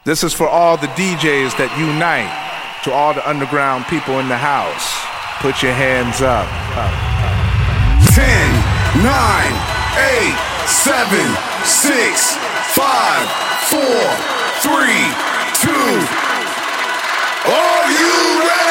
This is for all the DJs that unite, to all the underground people in the house. Put your hands up. 10, 9, 8, 7, 6, 5, 4, 3, 2. Are you ready?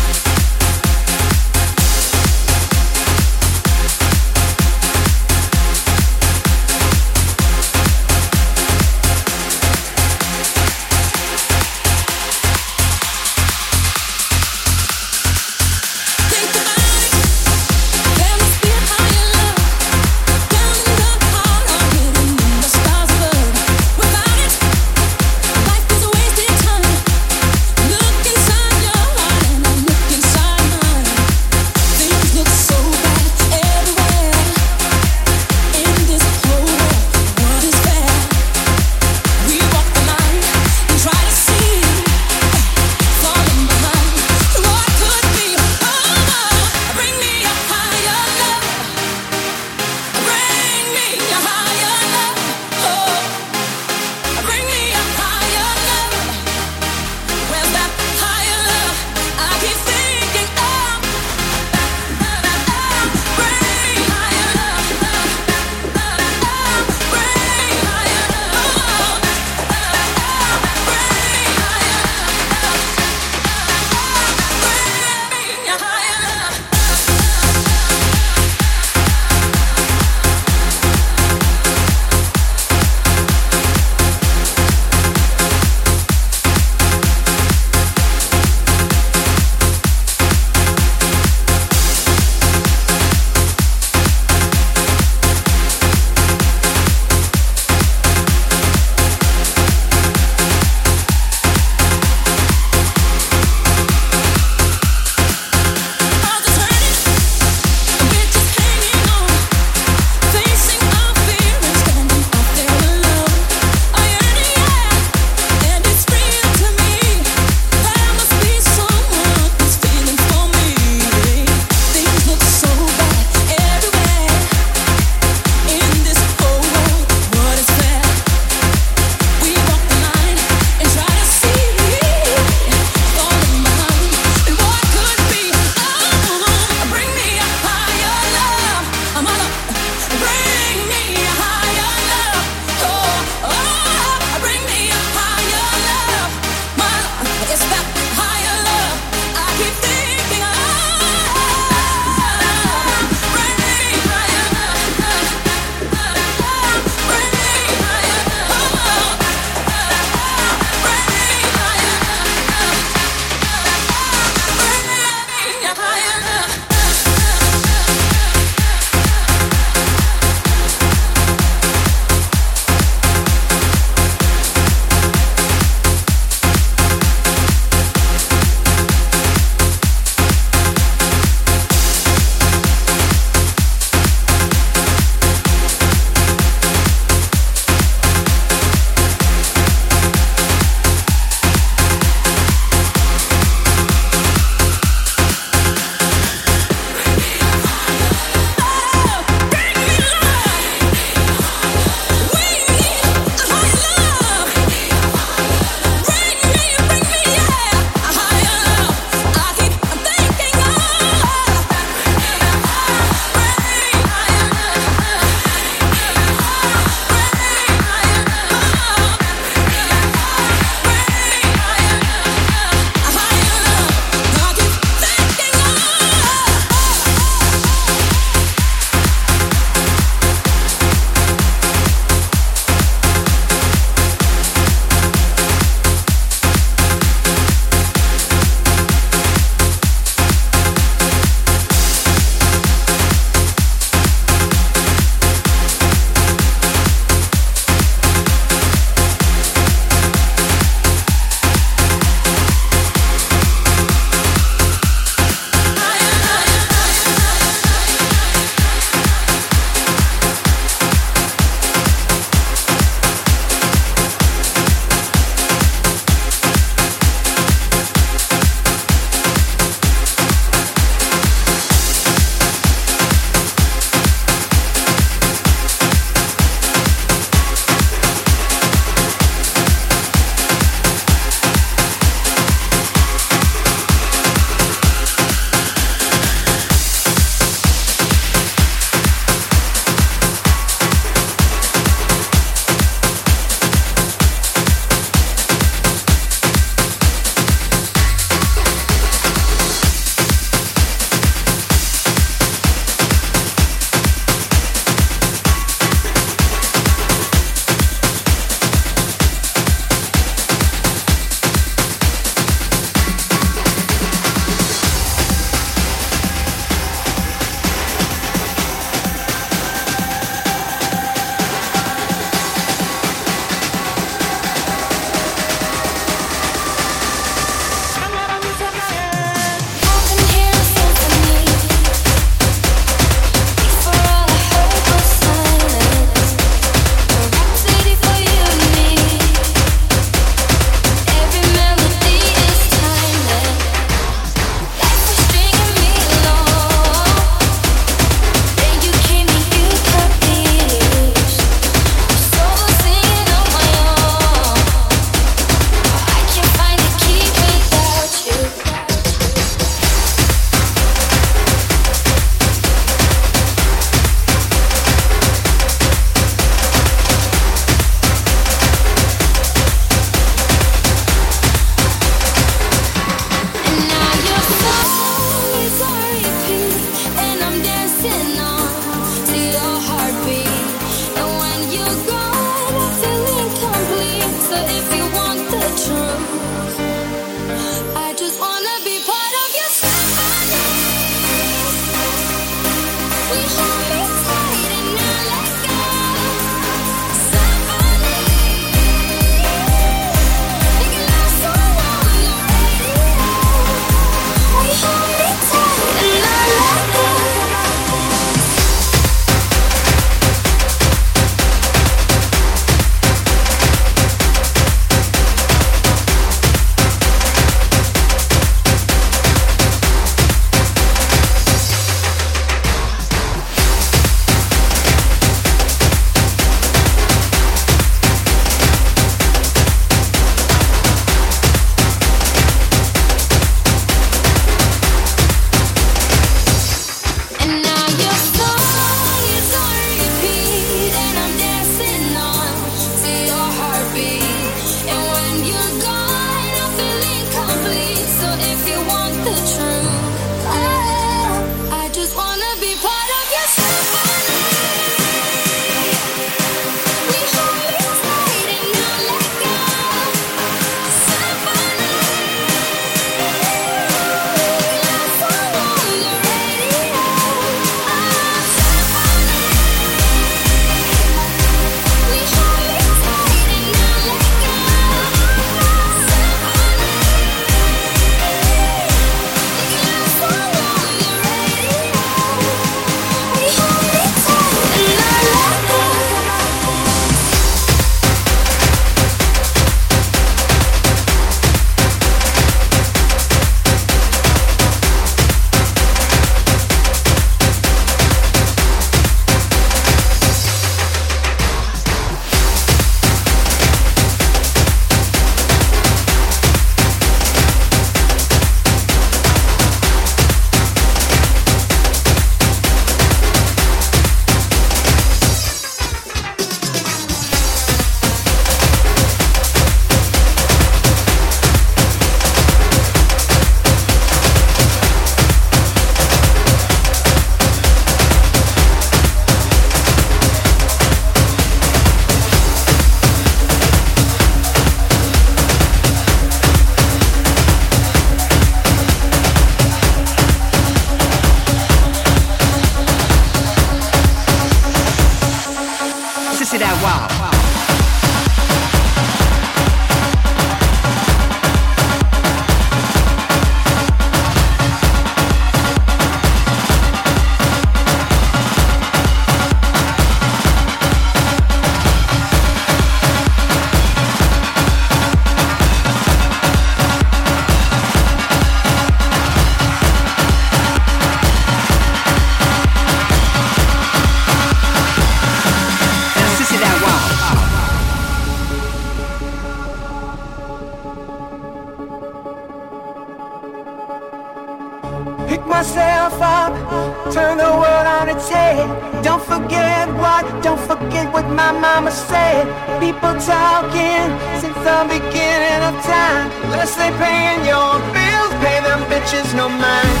myself up, turn the world on its head. Don't forget what my mama said. People talking since the beginning of time. Unless they paying your bills, pay them bitches no mind.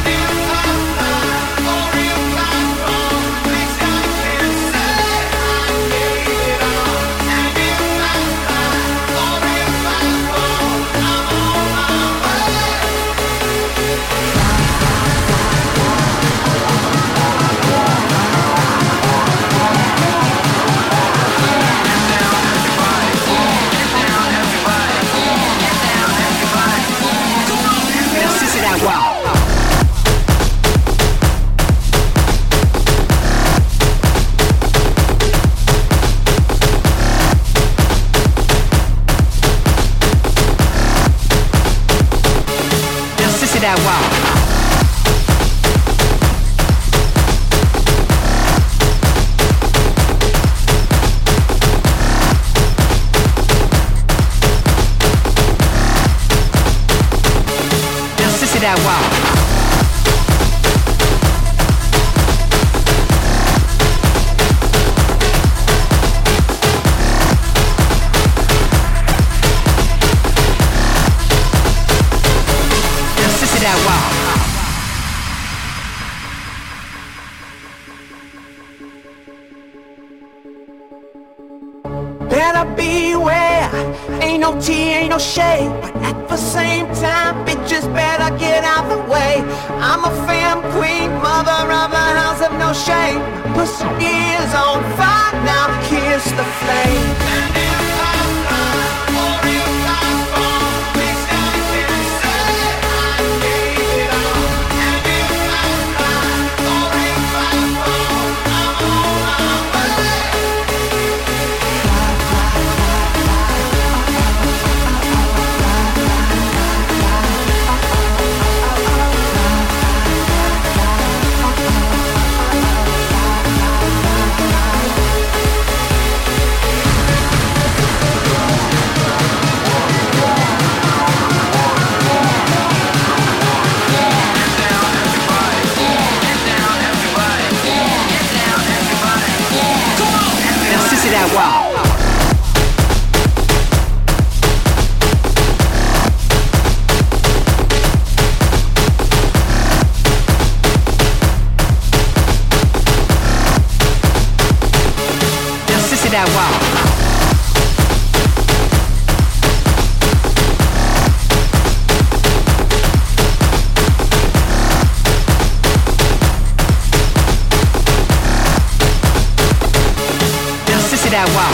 That wow. Now sissy that wow. That wow. Better beware, ain't no tea, ain't no shade. But at the same time, bitches better get out the way. I'm a femme queen, mother of the house of no shame. Pussy is on fire, now kiss the flame. That wow. Now sissy that wow. That wow.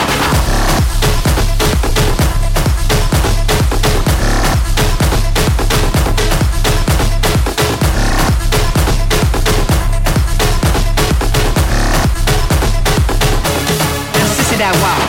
Now sissy that wow.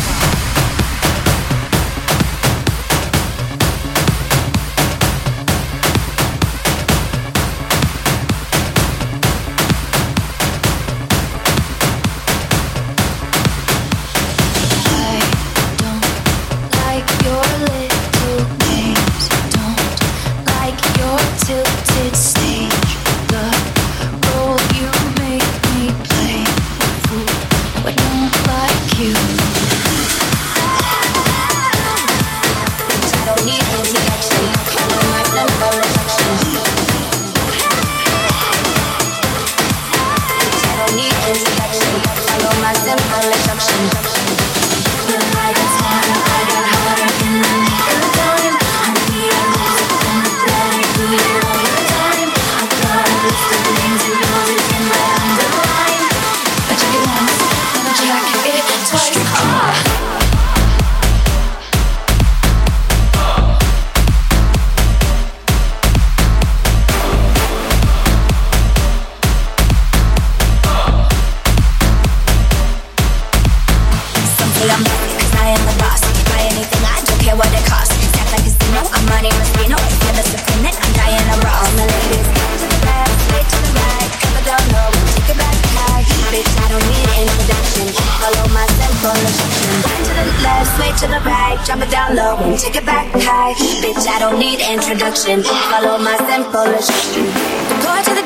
to the right, drop it down low and take it back high. Bitch, I don't need introduction. Follow my simple instruction.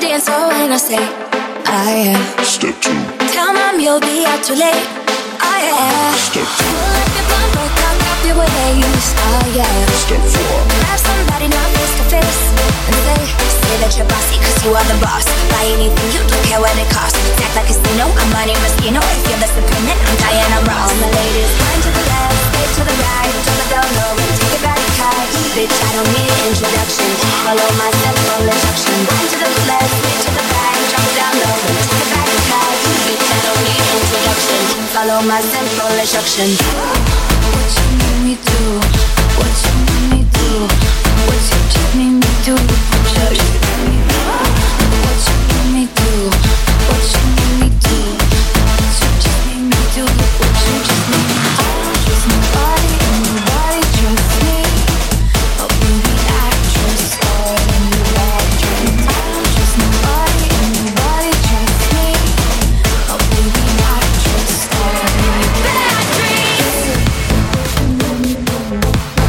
dance floor when I say, Step 2. Tell mom you'll be out too late. Step 2. Pull up your blunt, break out, grab your waist. Step 4. Grab somebody now face to face and say that you're bossy, cause you are the boss. Buy anything, you don't care what it costs. Act like a casino, I'm Monte Moschino. If you're disappointed, I'm Diana Ross. All my ladies, wind to the left, stay to the right, drop it down low and take it back high. Bitch, I don't need introduction. Follow my central instruction. Wind to the left, stay to the right, drop it down low and take it back high. Bitch, I don't need introduction. Follow my central instruction. What you need me do? What you need me do? What you just need me do? What you need me do? What you need me do? What you just need me do? What you just need me do? I don't trust nobody and nobody trusts me. Oh baby, I trust God and you bad dreams. I don't trust nobody and nobody trusts me. Oh baby, I trust God and you bad dreams.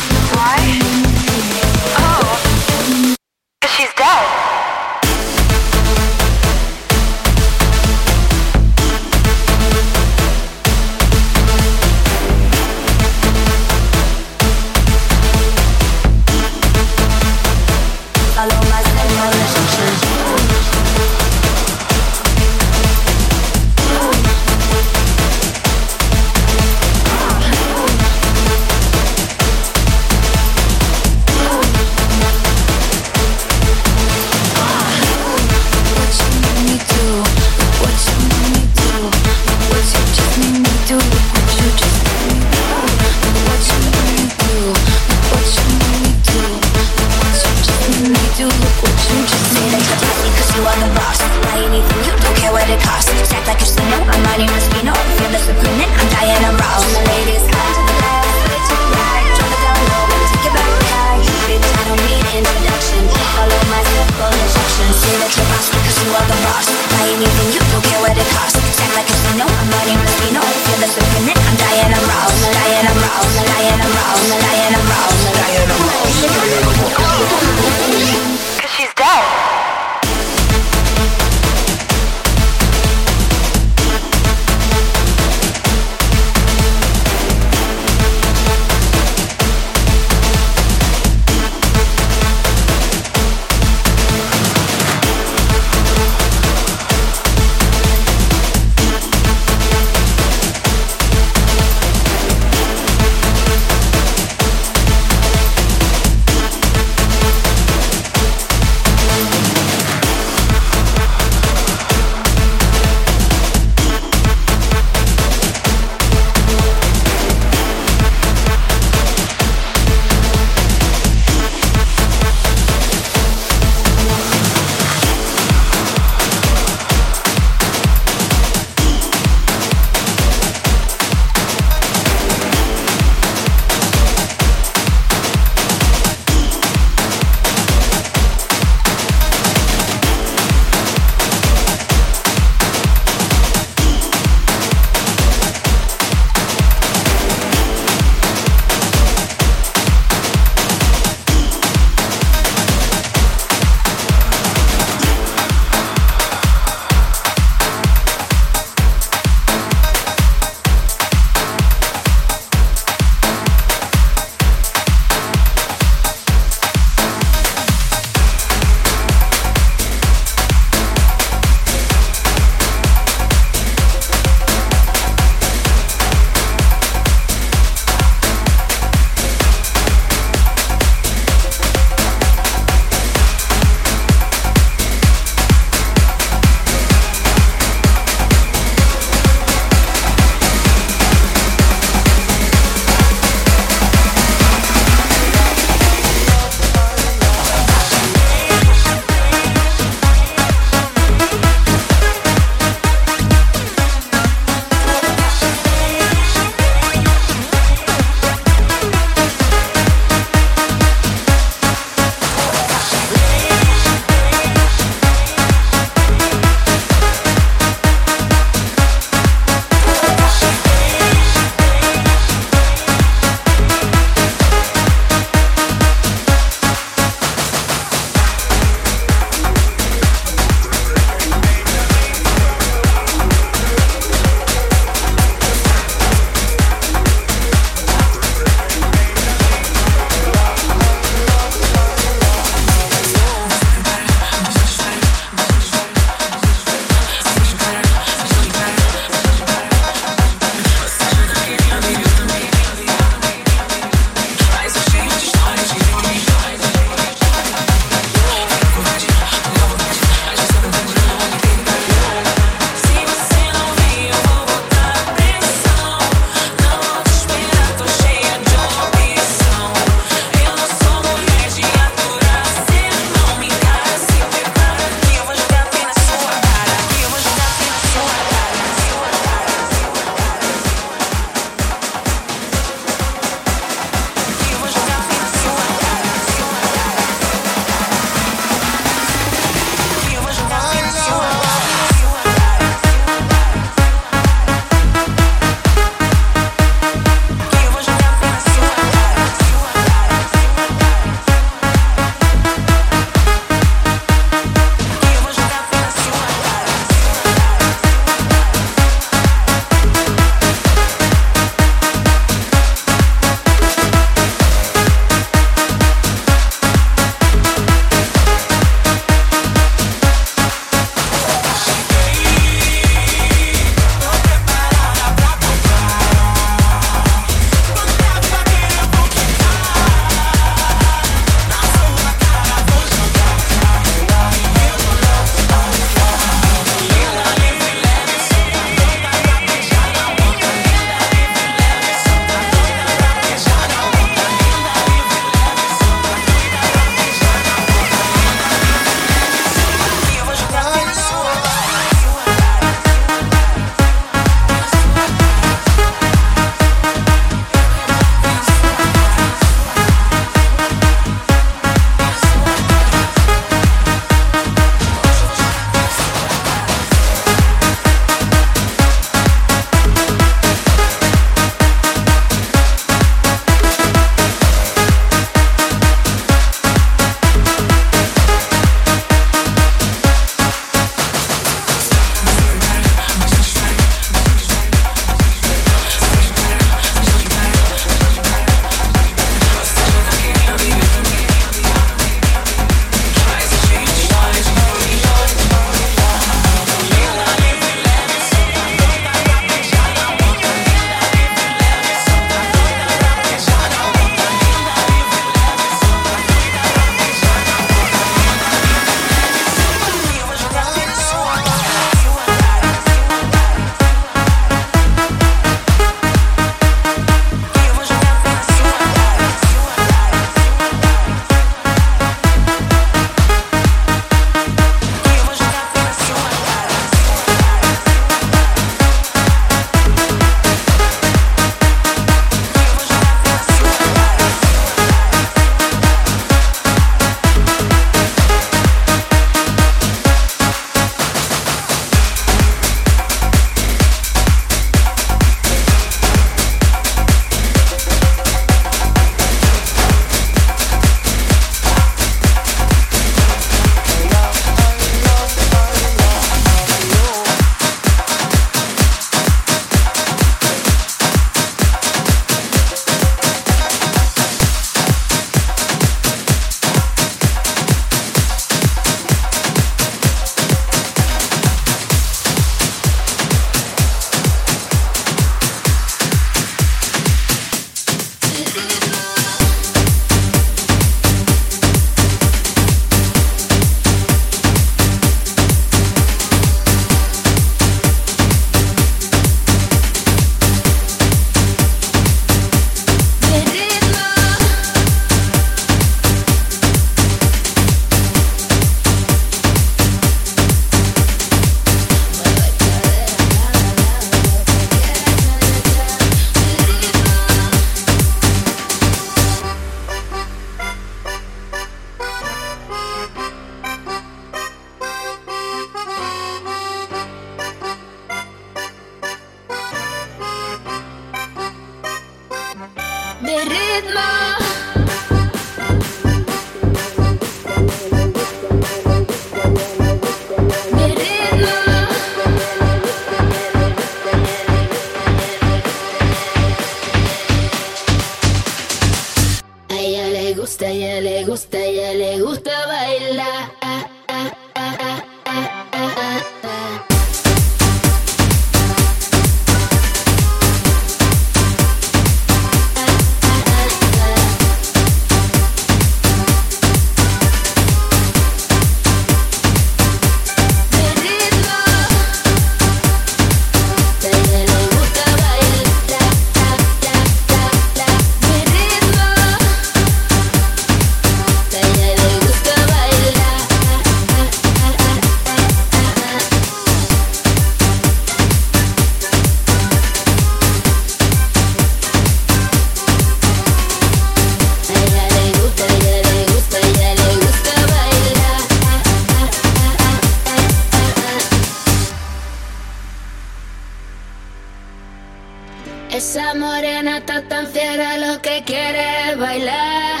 Esa morena está tan fiera, lo que quiere es bailar.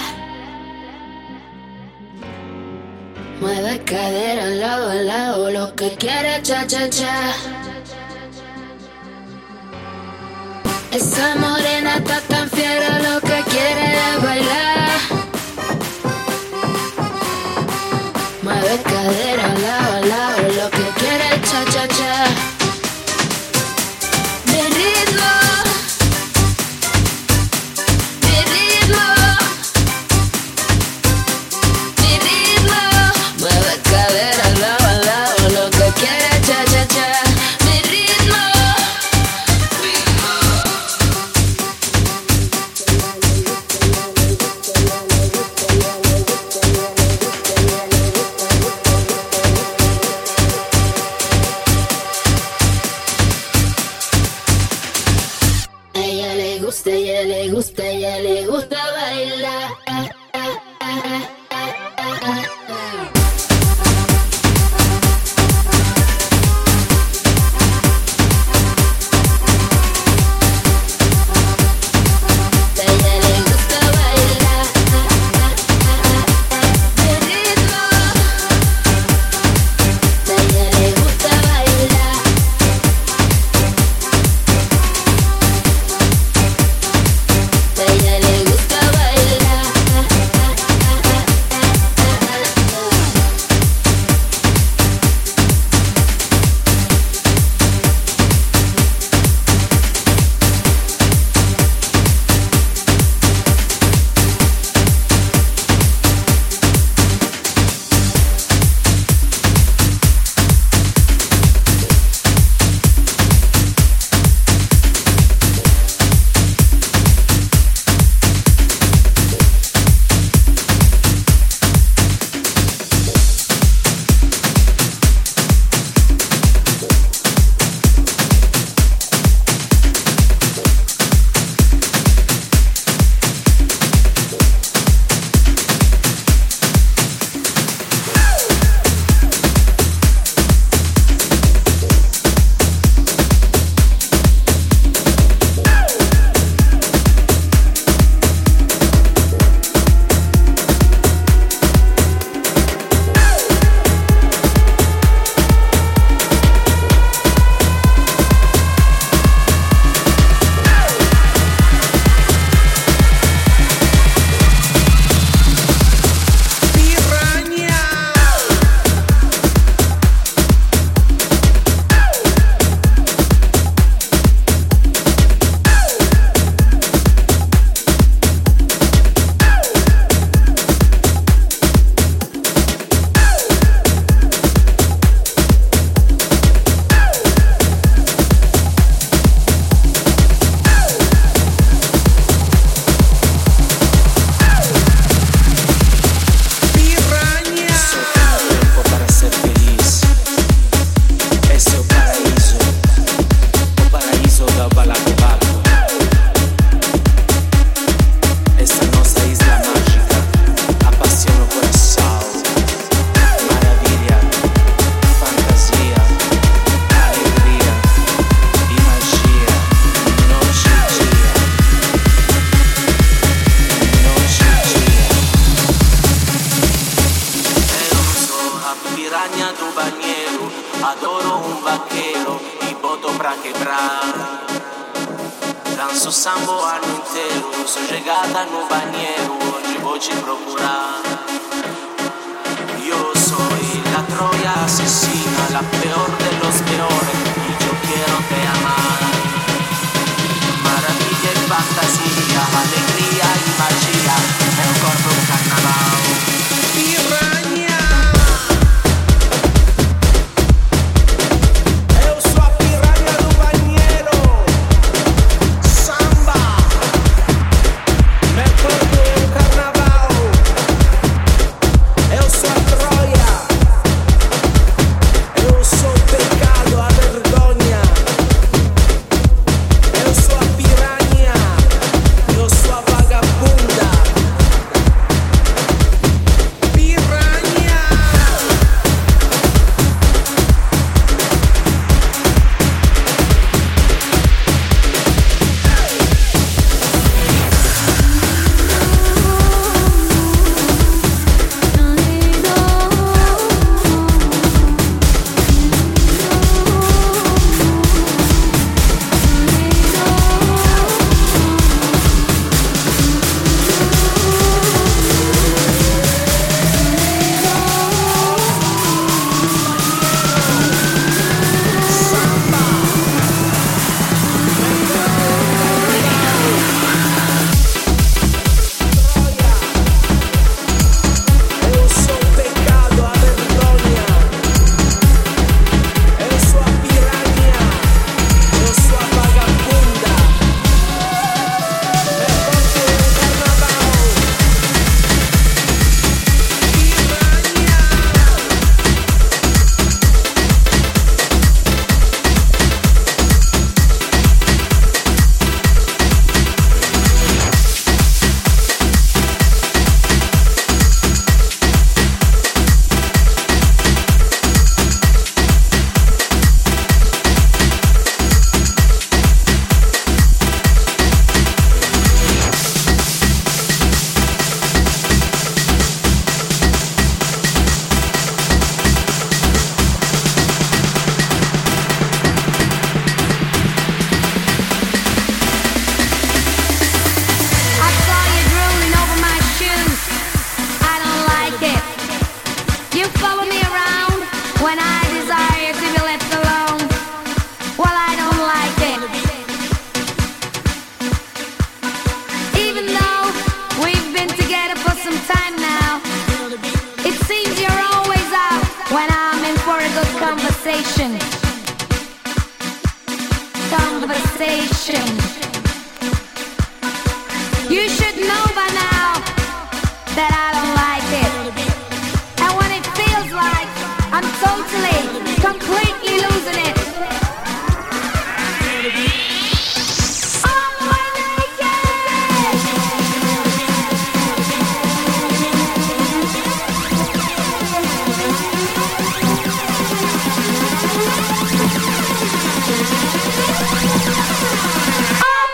Mueve cadera al lado, lo que quiere cha-cha-cha. Esa morena está tan fiera, lo que quiere es bailar. Mueve cadera al lado, lo que quiere es cha-cha-cha. Mi ritmo, mi ritmo, mi ritmo. Mueve cadera al lado, lo que quiere es cha-cha-cha. Mi ritmo, ella le gusta bailar. Ella le gusta bailar. Danço sambo o ano inteiro, sou chegada no banheiro, hoje vou te procurar. Yo soy la Troya asesina, la peor de los peores, y yo quiero te amar. Maravilla y fantasía, alegría y magia, nel corpo un carnaval. Piranha! Eu sou a piranha do banheiro. Samba! Nel corpo un carnaval. Eu sou a Troia. Eu sou o pecado, a vergonha. Eu sou a piranha. Eu sou a vagabunda. Piranha. Eu sou o pecado, a vergonha. Eu sou a piranha. Eu sou a vagabunda. É porque o carnaval. Piranha. I saw you drooling over my shoes. I don't like it. You follow me around when I desire to be left alone. Well, I don't like it. Even though we've been together for some time now, it seems you're always out when I'm in for a good conversation. You should know by now that I don't like it. And when it feels like I'm totally, completely losing it. Oh, I'm naked.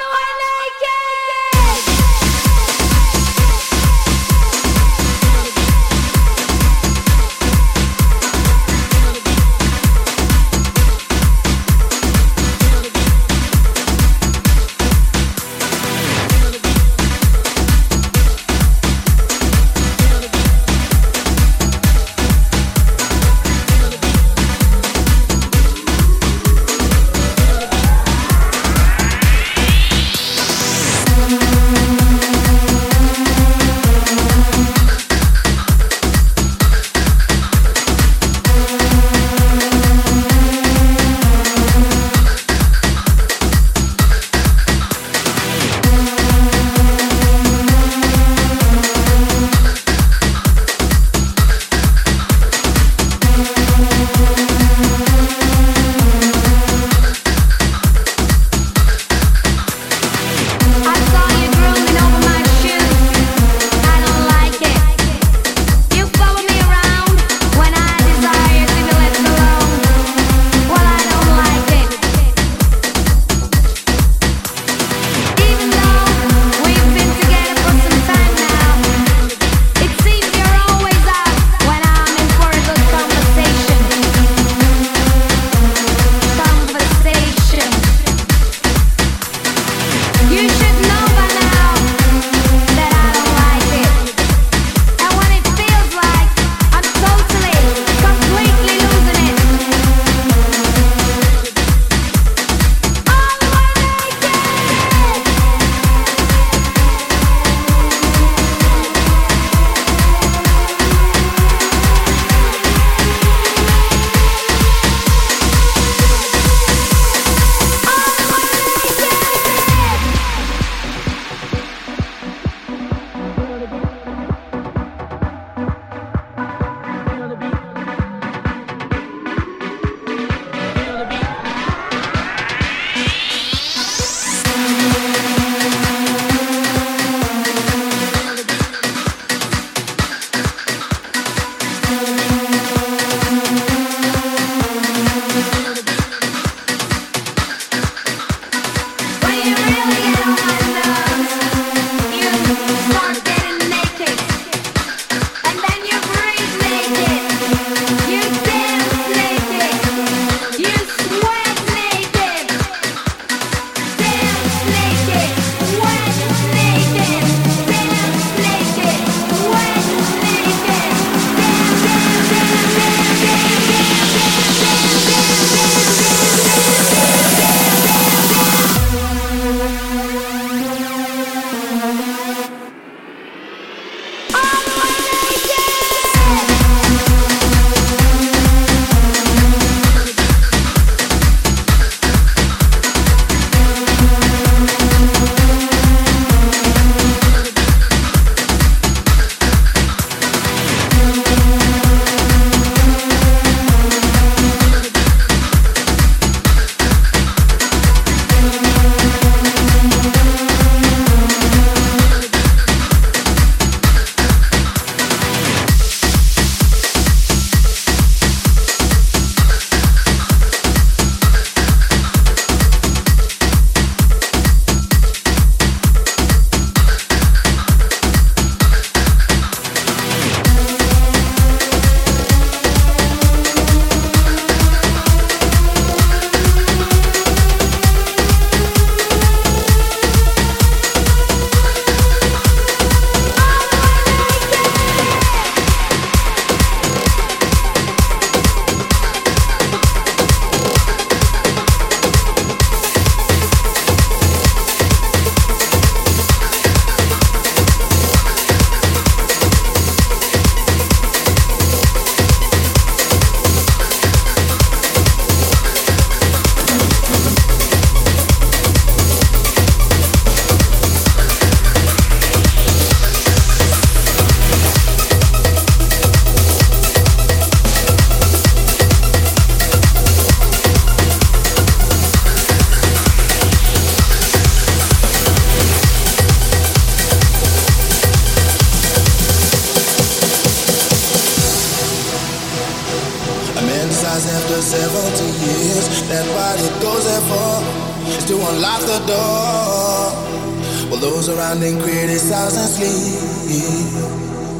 That's what it goes there for, is to unlock the door. While those around them criticize and sleep.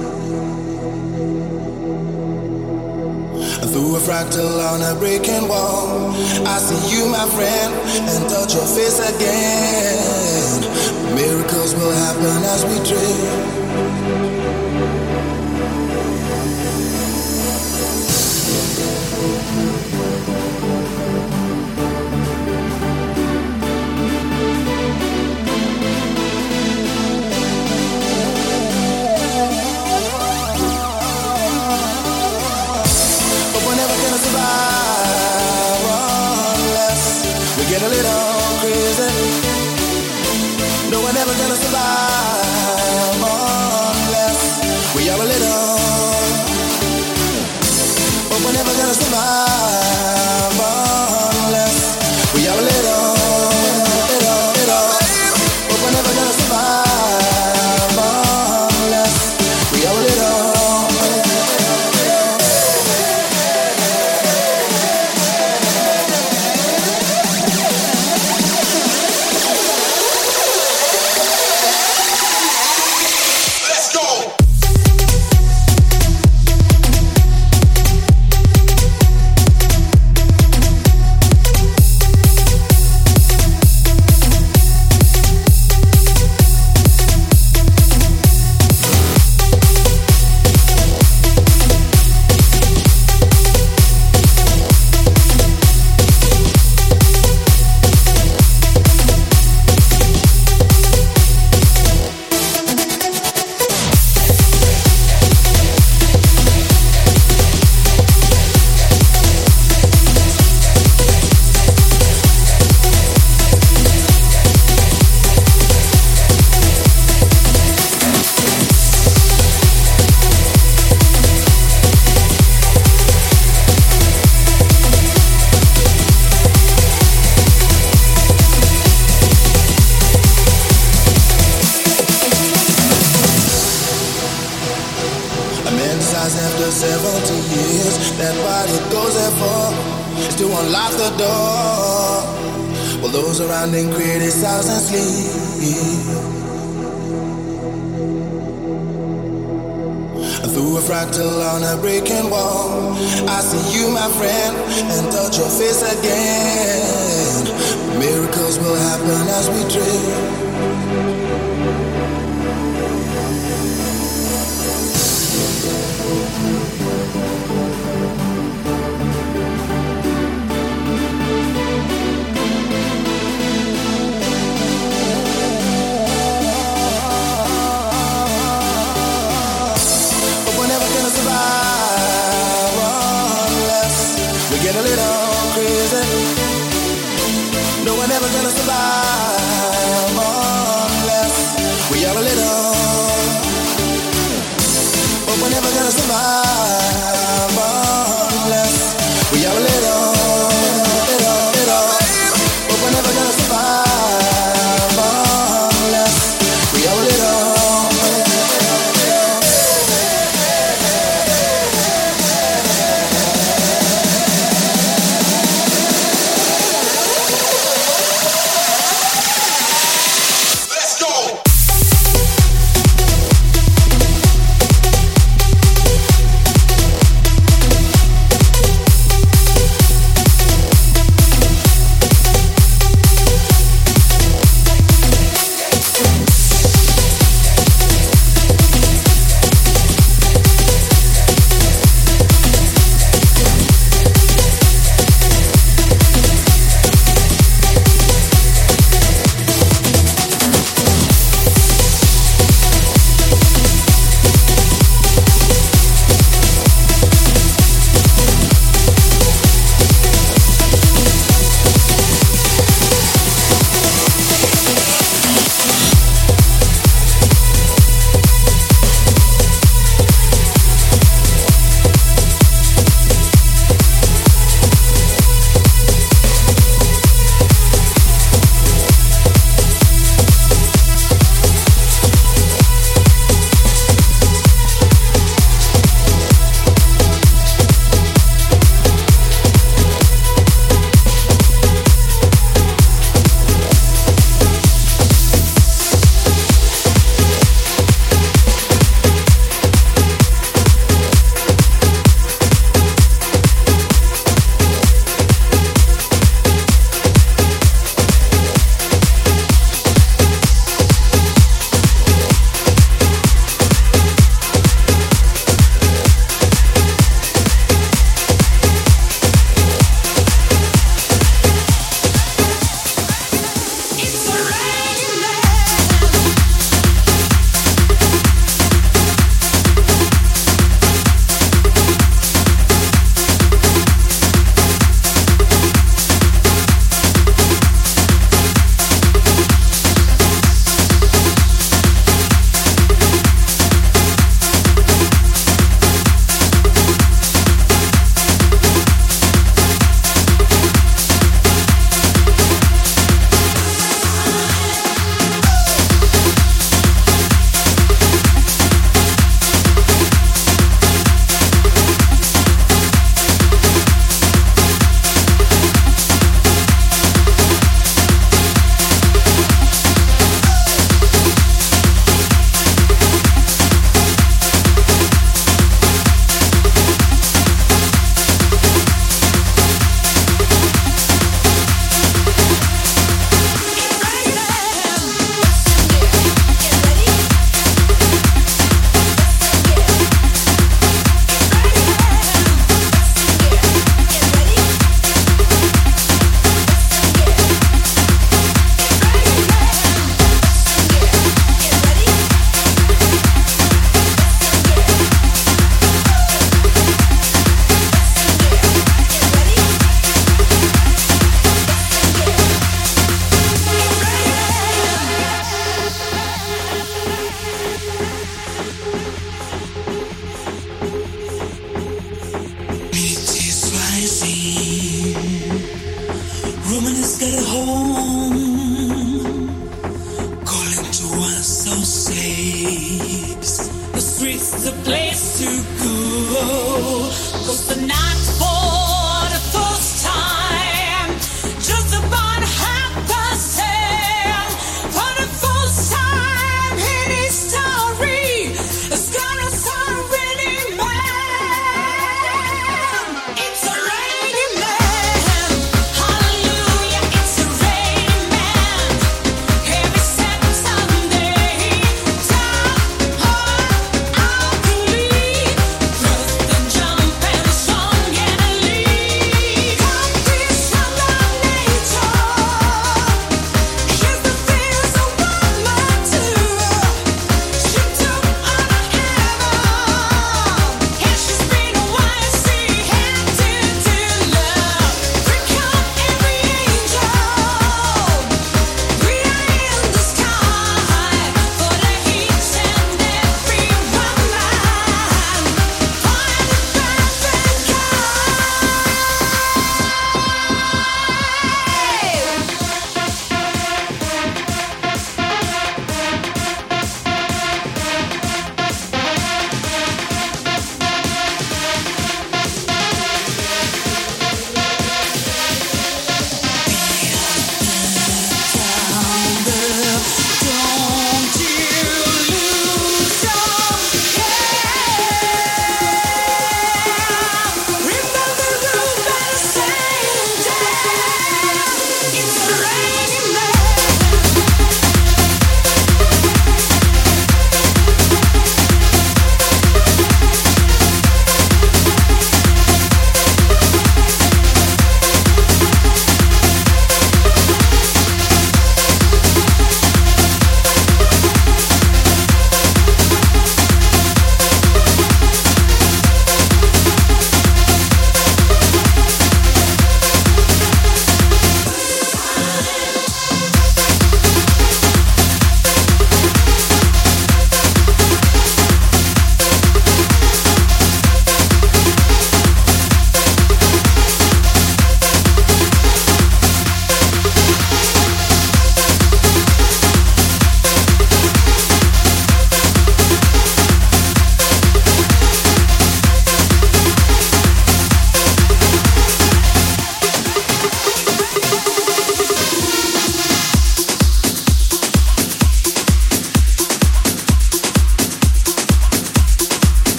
Through a fractal on a breaking wall, I see you, my friend, and touch your face again. Miracles will happen as we dream. Get a little crazy. No, we're never gonna survive unless we are a little. But we're never gonna survive unless we are a little. But we're never gonna survive unless we are a little. After 70 years, that's what it goes there for, is to unlock the door. While those around them criticize and sleep. Through a fractal on a breaking wall, I see you, my friend, and touch your face again. Miracles will happen as we dream. Get a little crazy. No, we're never gonna survive unless we are a little. But we're never gonna survive unless we are a little. But we're never gonna survive unless we are a little.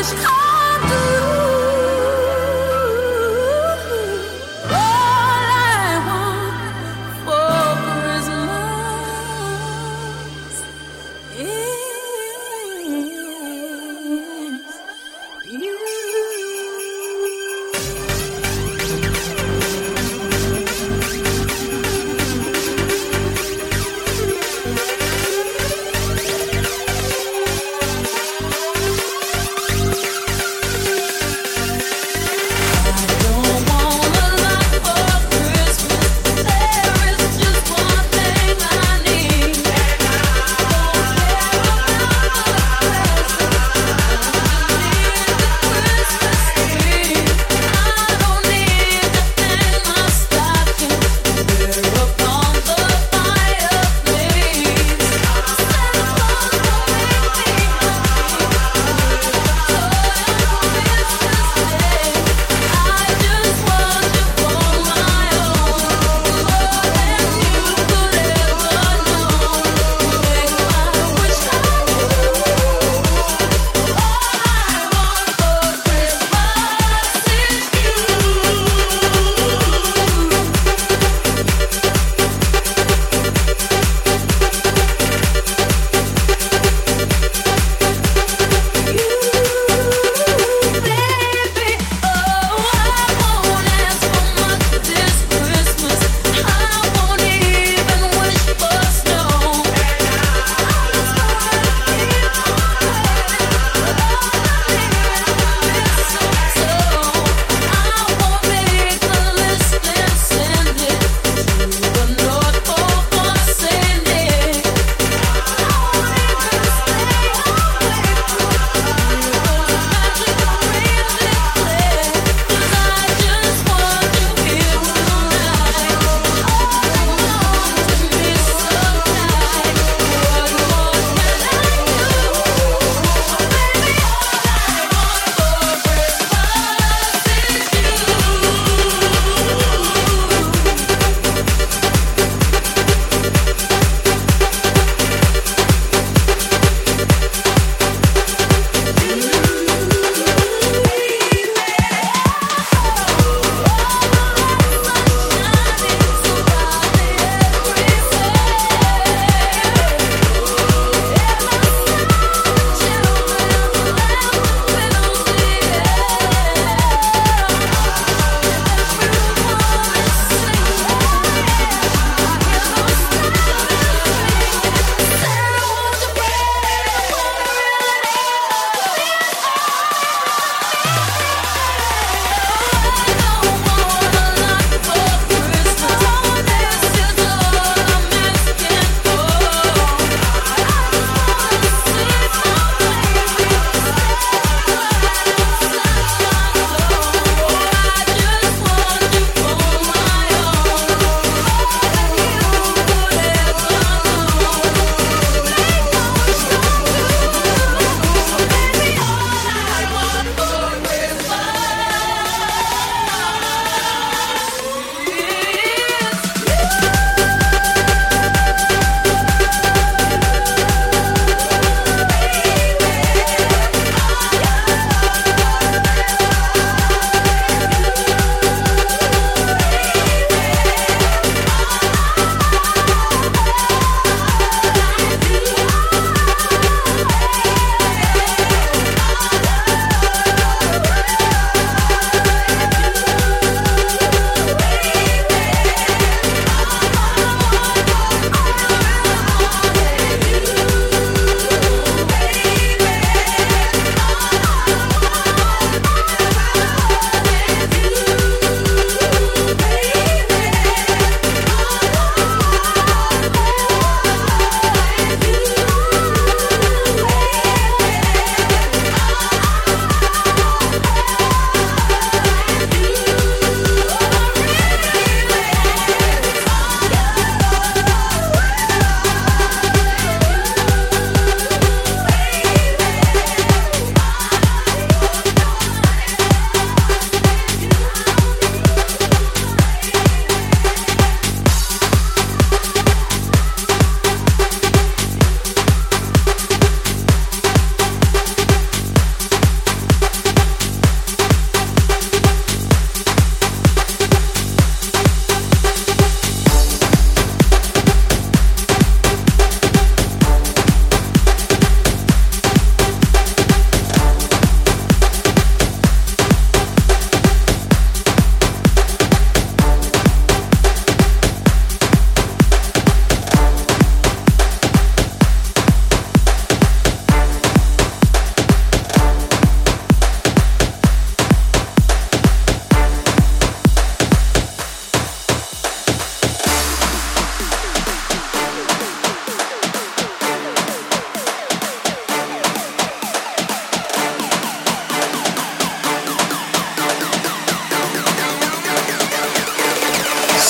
wish come true. All I want for Christmas is you.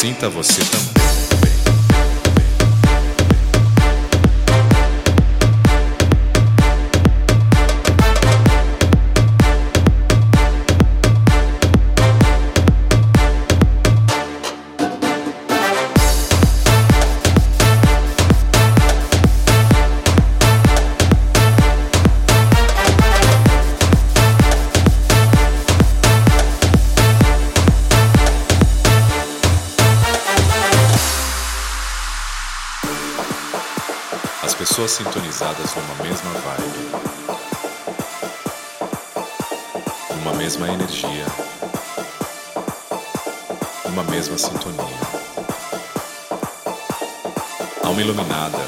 Sinta você também. Pessoas sintonizadas numa mesma vibe, numa mesma energia, numa mesma sintonia. Alma iluminada,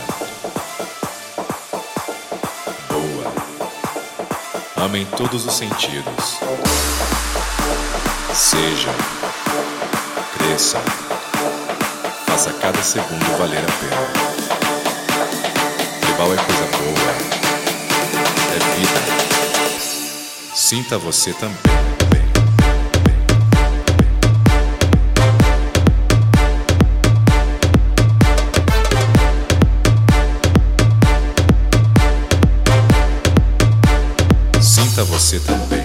boa, ama em todos os sentidos. Seja, cresça, faça cada segundo valer a pena. Tribal é coisa boa, é vida. Sinta você também. Sinta você também.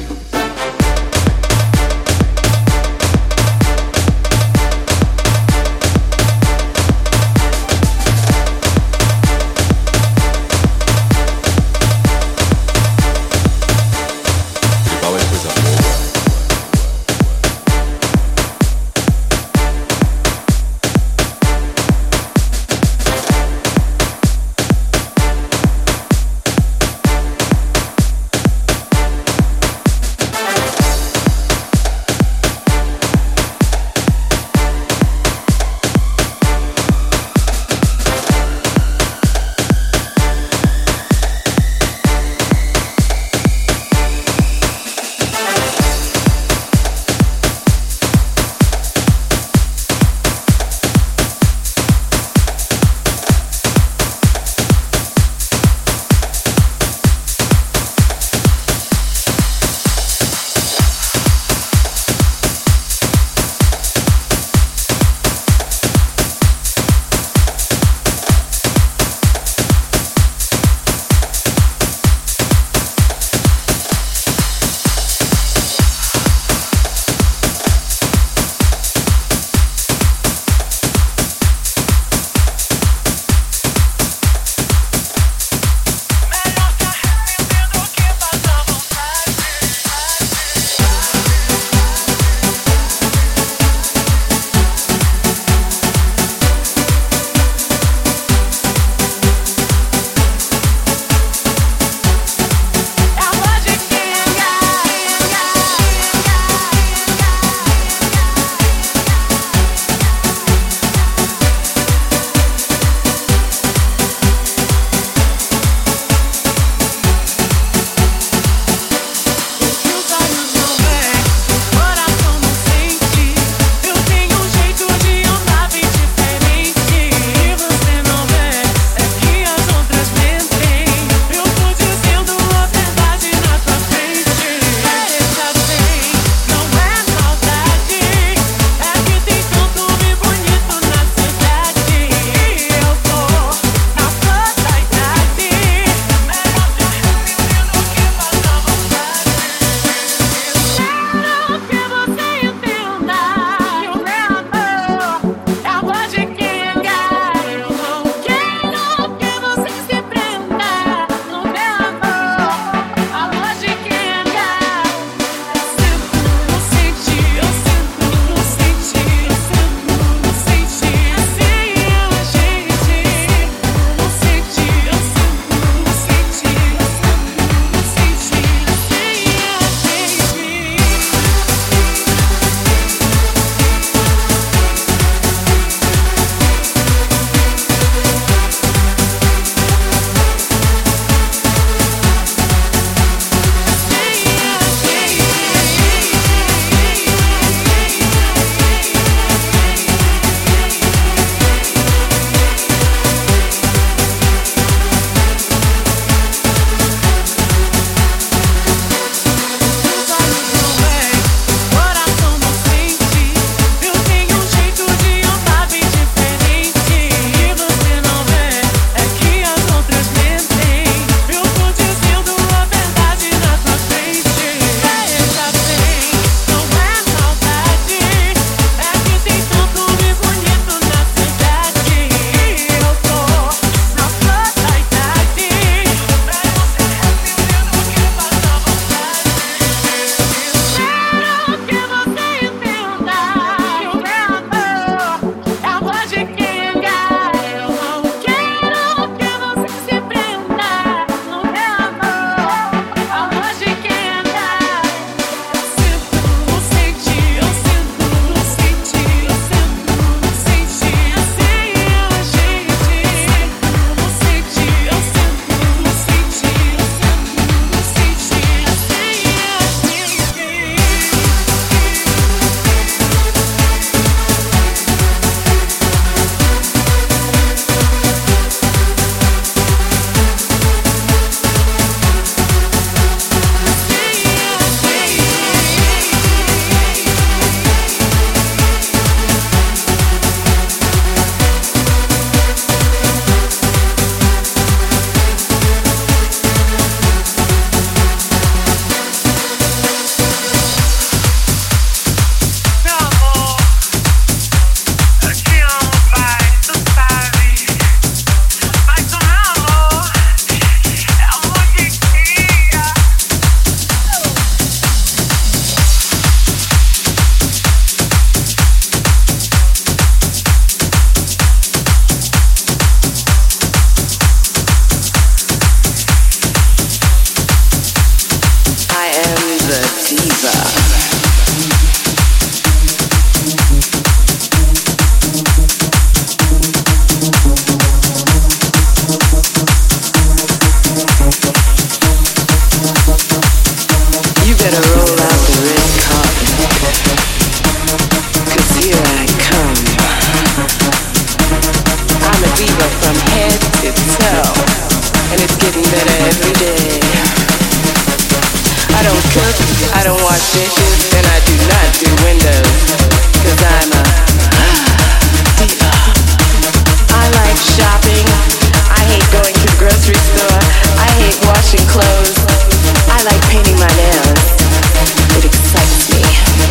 wash dishes, and I do not do windows, 'cause I'm a diva. I like shopping. I hate going to the grocery store. I hate washing clothes. I like painting my nails. It excites me.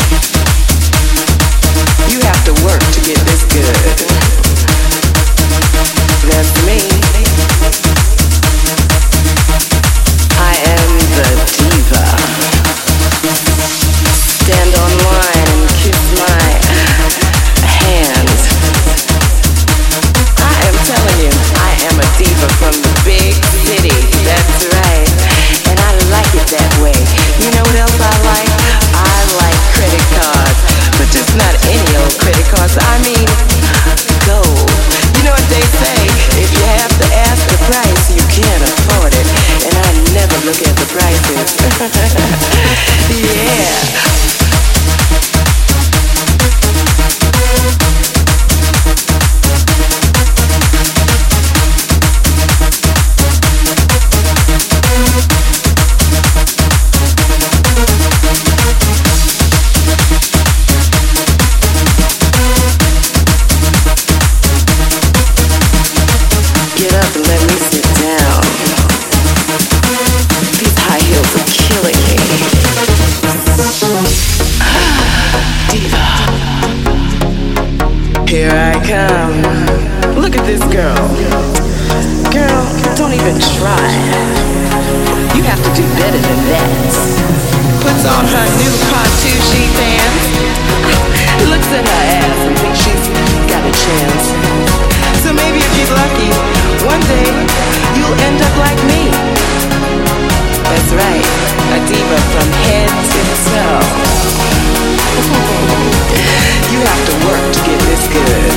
You have to work to get this good. That's me. I am the diva. Stand online and kiss my hands. I am telling you, I am a diva from the big city. That's right. And I like it that way. You know what else I like? I like credit cards. But just not any old credit cards. I mean, gold. You know what they say? If you have to ask the price, you can't afford it. And I never look at the prices. Yeah. Get up and let me sit down. These high heels are killing me. Diva. Here I come. Look at this girl. Girl, don't even try. You have to do better than that. Puts on her new cartouche pants. Looks at her ass and thinks she's got a chance. So maybe if you're lucky, one day you'll end up like me. That's right, a diva from head to toe. You have to work to get this good.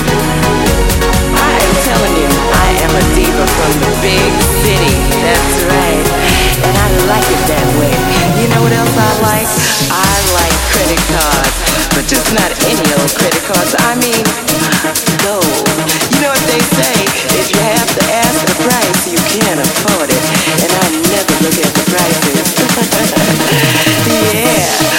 I am telling you, I am a diva from the big city. That's right, and I like it that way. You know what else I like? I like credit cards, but just not any old credit cards. I mean, gold. You know what they say? If you have to ask the price, you can't afford it. And I never look at the prices. Yeah.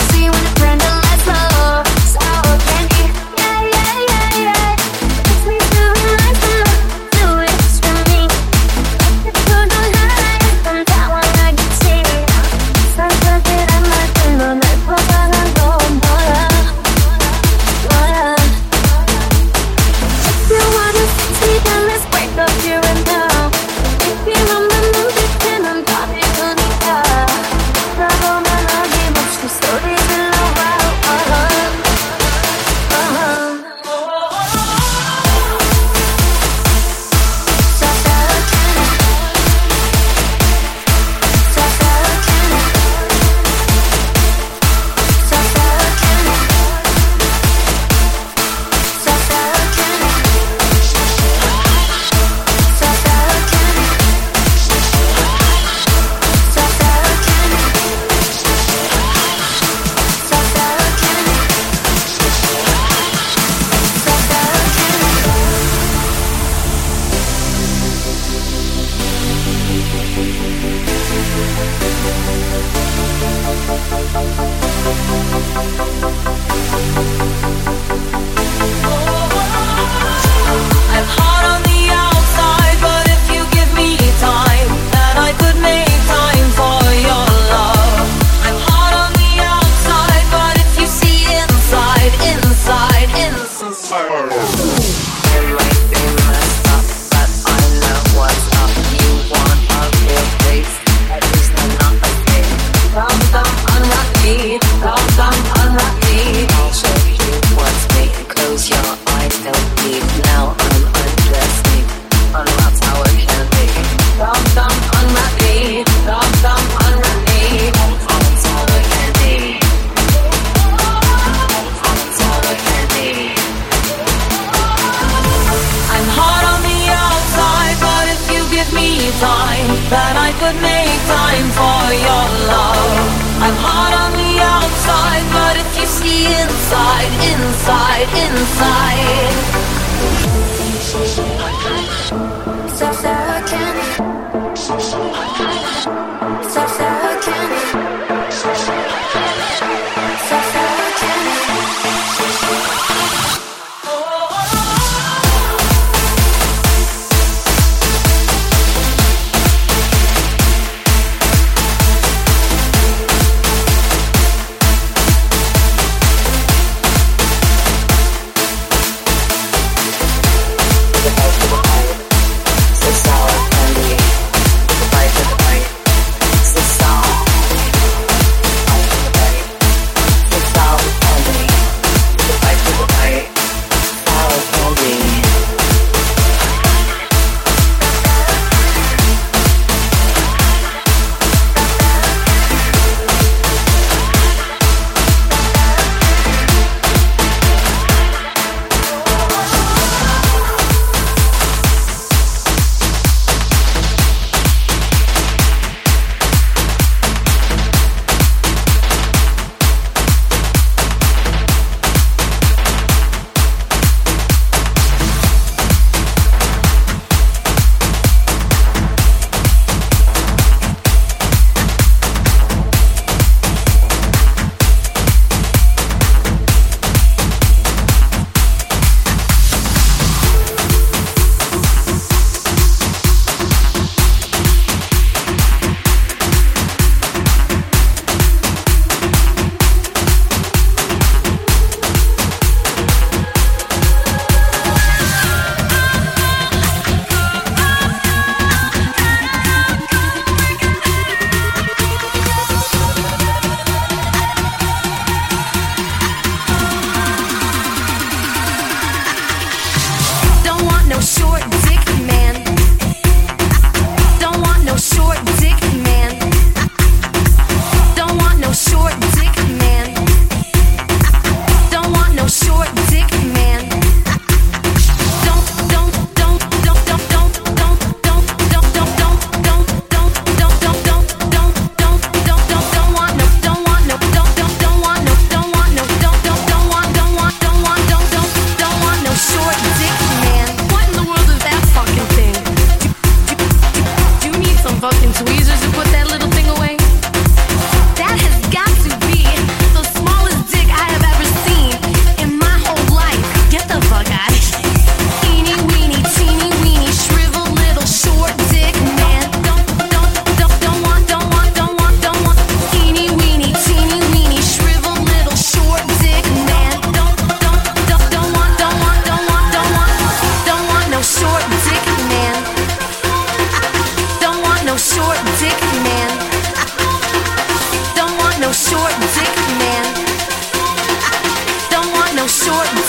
So sour candy, the bite of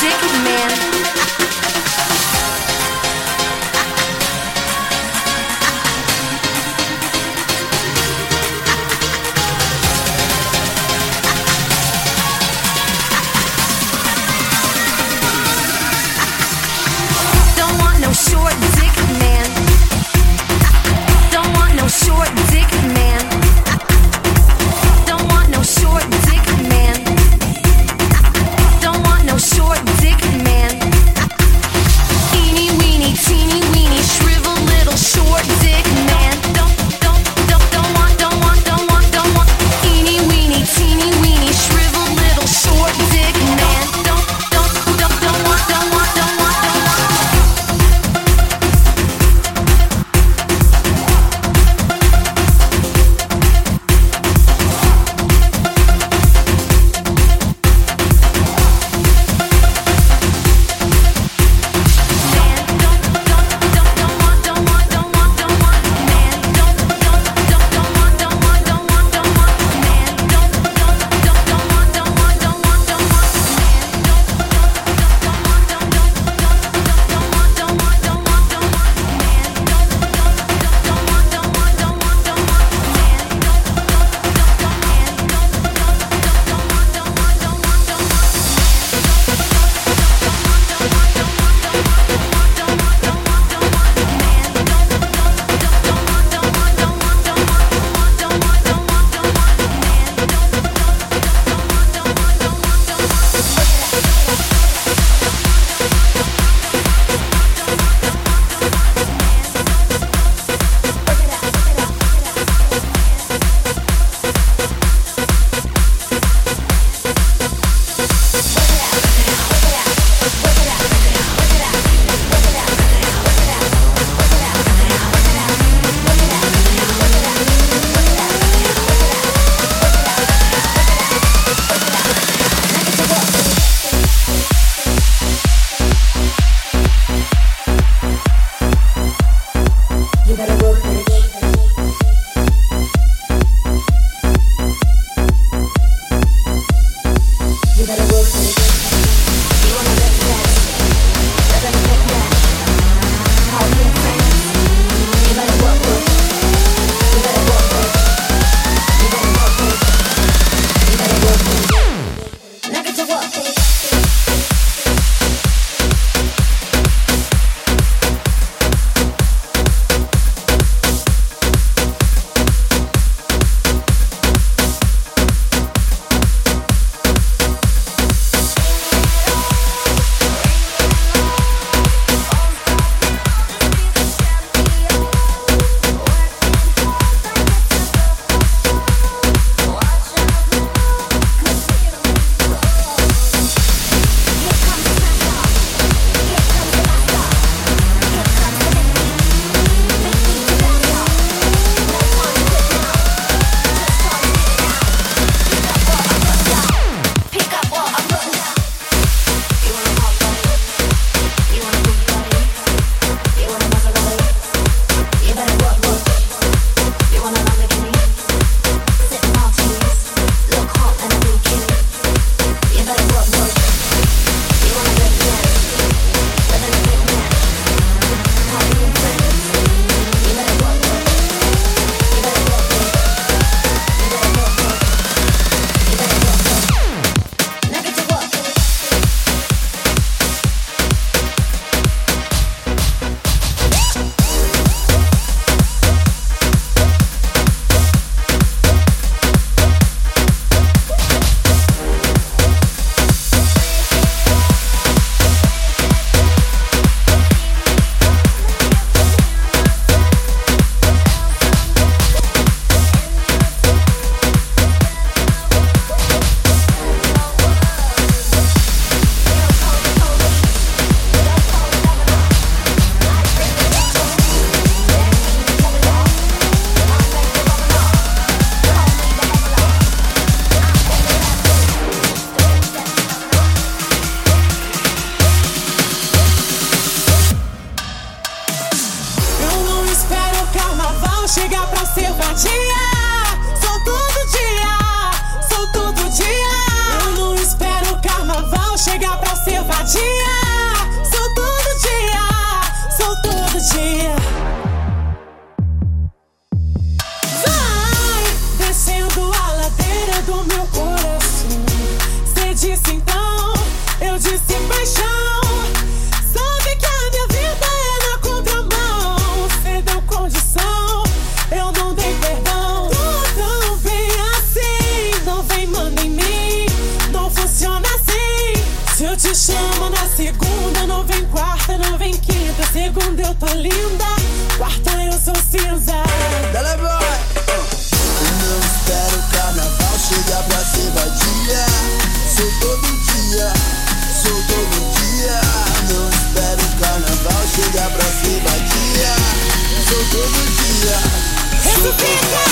dick man. Don't want no short dick man. Don't want no short dick man. Don't want no short dick man. Don't want no short dick man. dia, sou todo dia, sou todo dia. Vai descendo a ladeira do meu coração. Cê disse então, eu disse paixão. Sabe que a minha vida é na contramão. Cê deu condição, eu não dei perdão. Tô tão bem assim, não vem manda em mim, não funciona assim. Se eu te chamo na segunda, não vem quarta, não vem quinta. Segunda eu tô linda, quarta eu sou cinza. Dale, boy! Não espero o carnaval chegar pra ser vadia. Sou todo dia, sou todo dia. Não espero o carnaval chegar pra ser vadia. Sou todo dia. Ressuscita!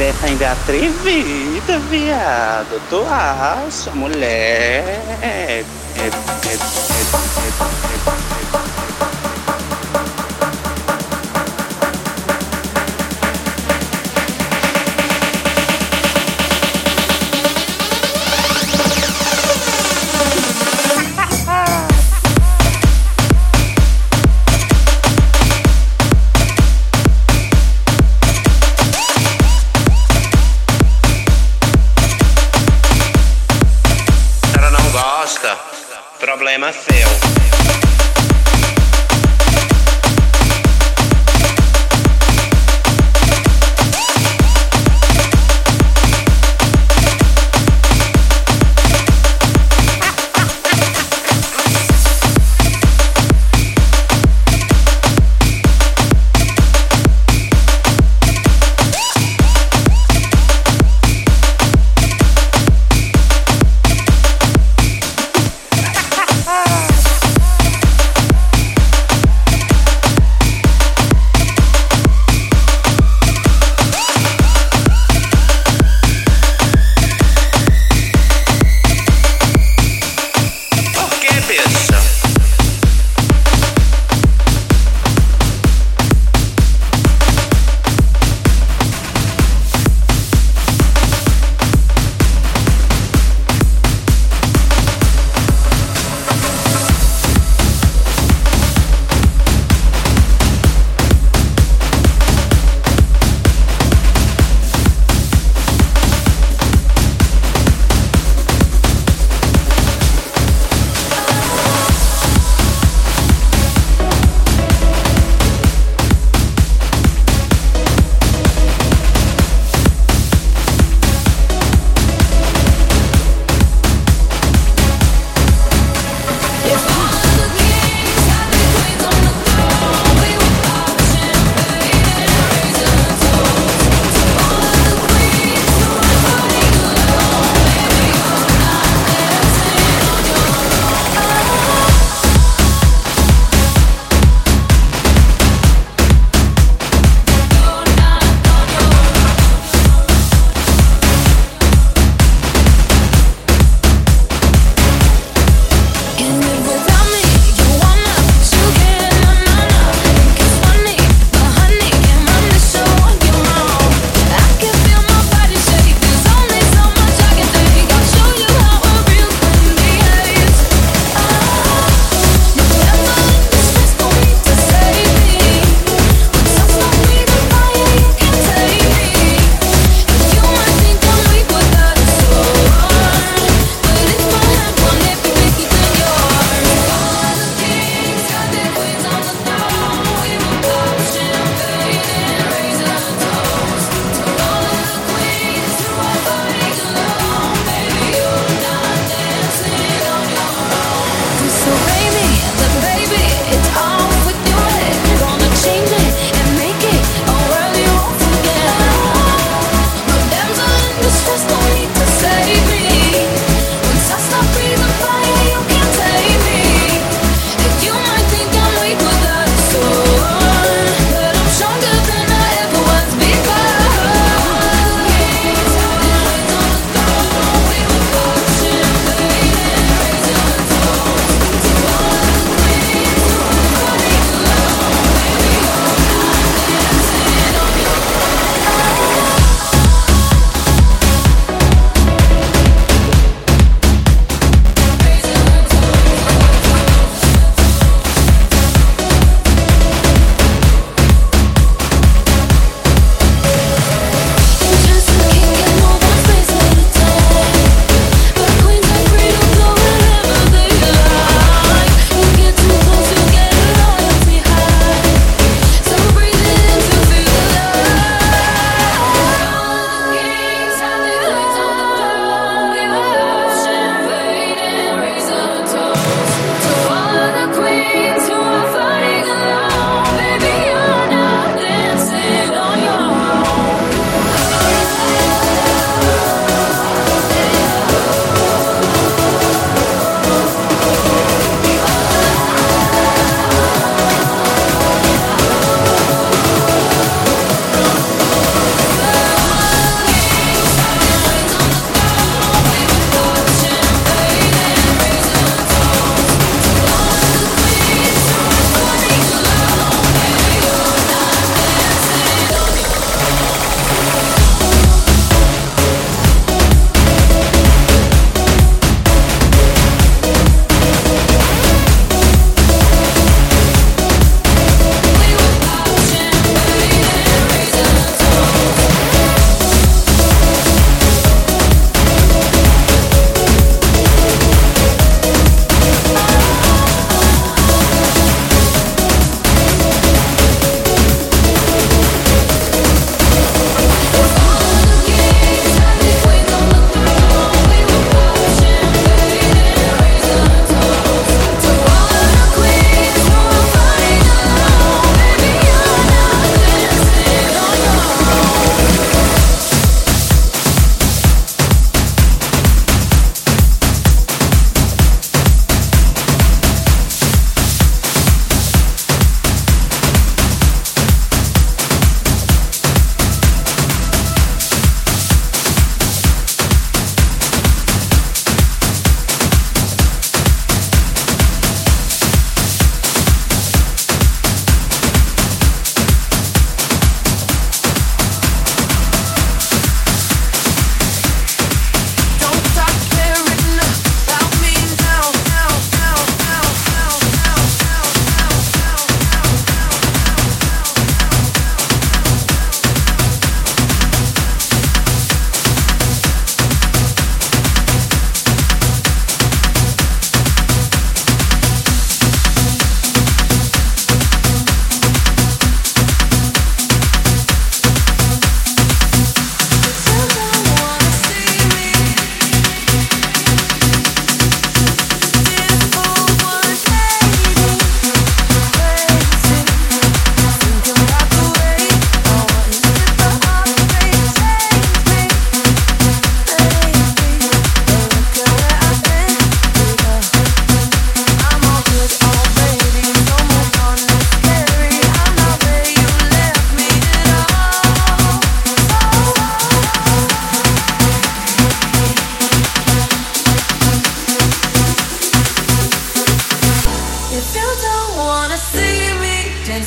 ainda é atrevida, viado. Tu acha, mulher? Problema seu.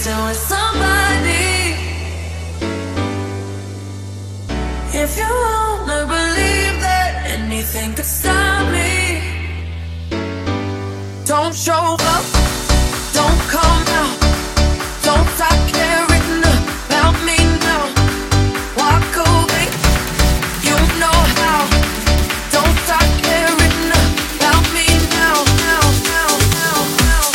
dancing with somebody. If you wanna believe that anything could stop me, don't show up, don't come out, don't stop caring about me now. Walk away, you know how. Don't stop caring about me now, now, now, now, now,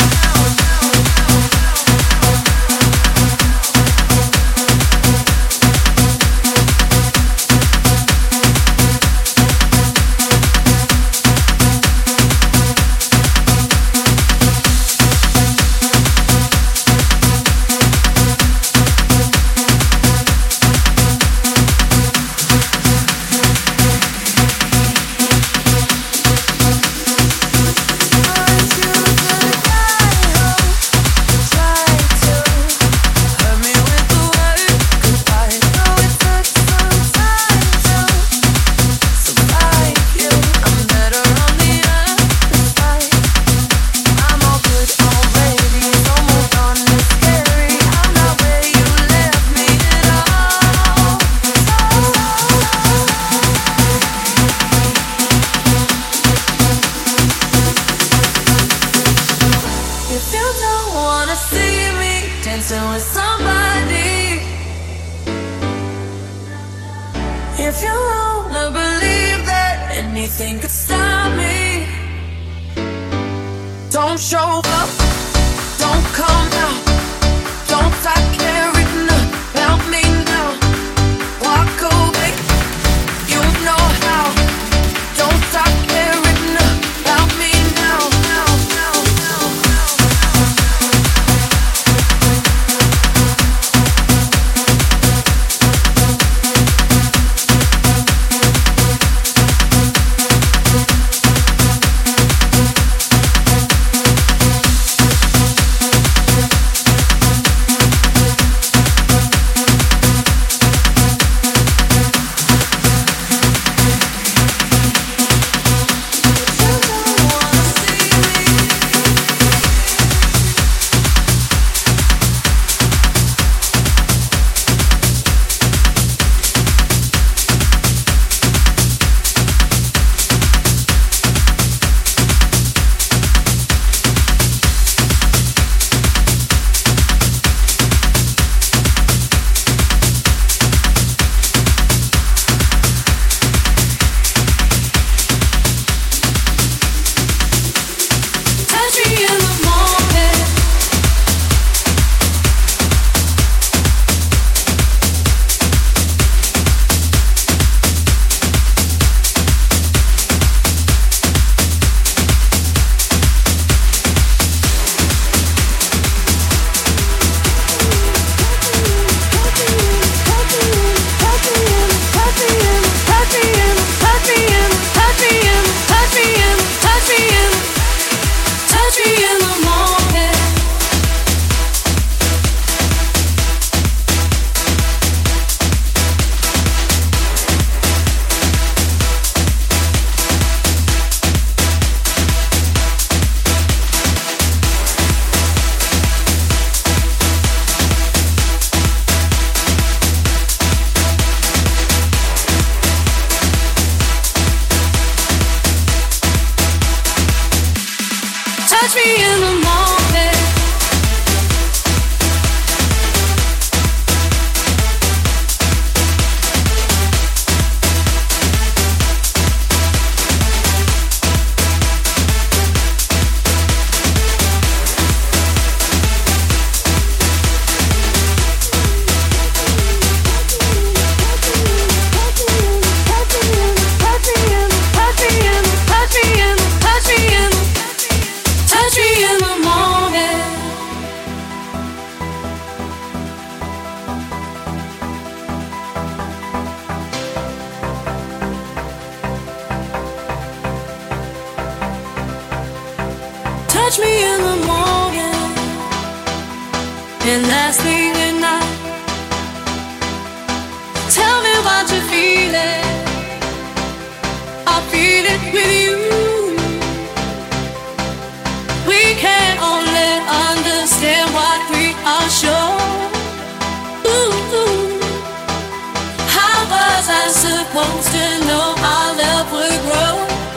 touch me in the morning and last thing at night. Tell me what you're feeling, I feel it with you. We can only understand what we are sure. supposed to know our love would grow.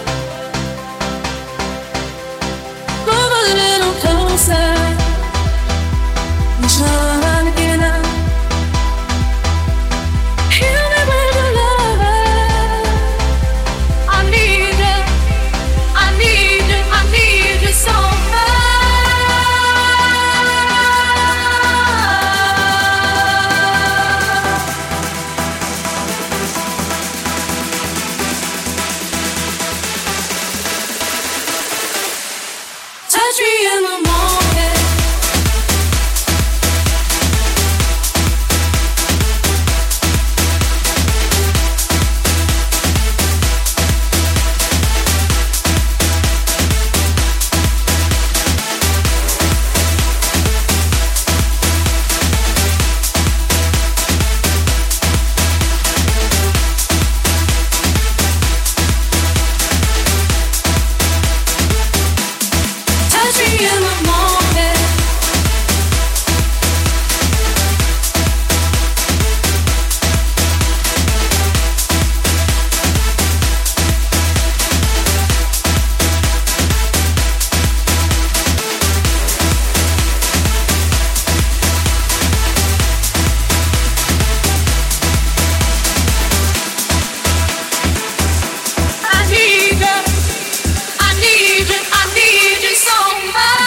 Move a little closer. Try to get up. Heal me with your love. I need you. I need you. I need you so much. Touch me in the morning. Touch me in the morning. I need you. I need you. I need you so much.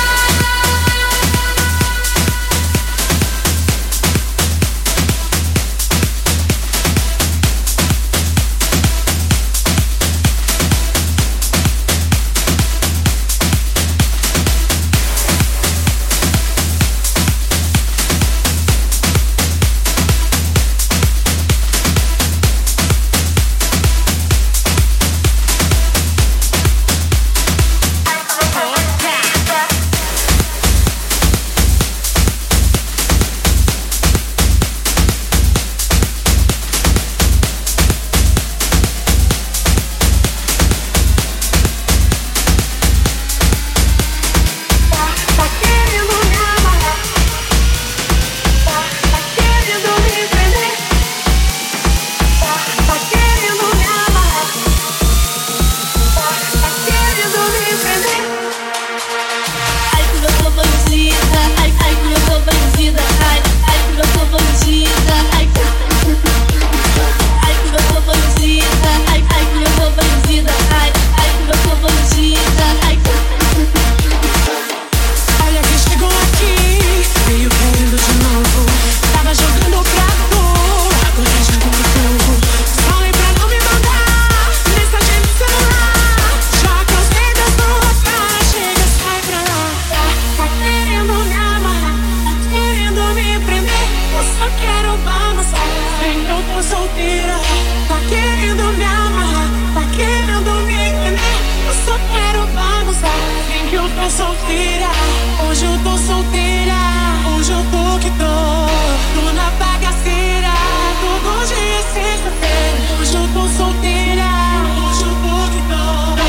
Tá querendo me amarrar? Tá querendo me prender? Tá querendo me amarrar? Tá querendo me prender? Ai, como eu sou bandida. Ai, como eu sou bandida. Ai, como eu sou bandida. Ai, como eu sou bandida. Ai, como eu sou bandida. Ai, como eu sou bandida. Olha quem chegou aqui, veio querendo de novo. Tava jogando pra tu, agora já comigo. Falei pra não me mandar mensagem no celular. Já cansei da sua cara, chega, sai pra lá. Tá querendo me amarrar, tá querendo me prender. Eu só quero balançar, vem que eu tô solteira. Tá querendo me amarrar, tá querendo me prender. Eu só quero balançar, vem que eu tô solteira. Hoje eu tô solteira, hoje eu tô que tô na bagaceira. Todo dia é sexta-feira. Hoje eu tô solteira, hoje eu tô que tô.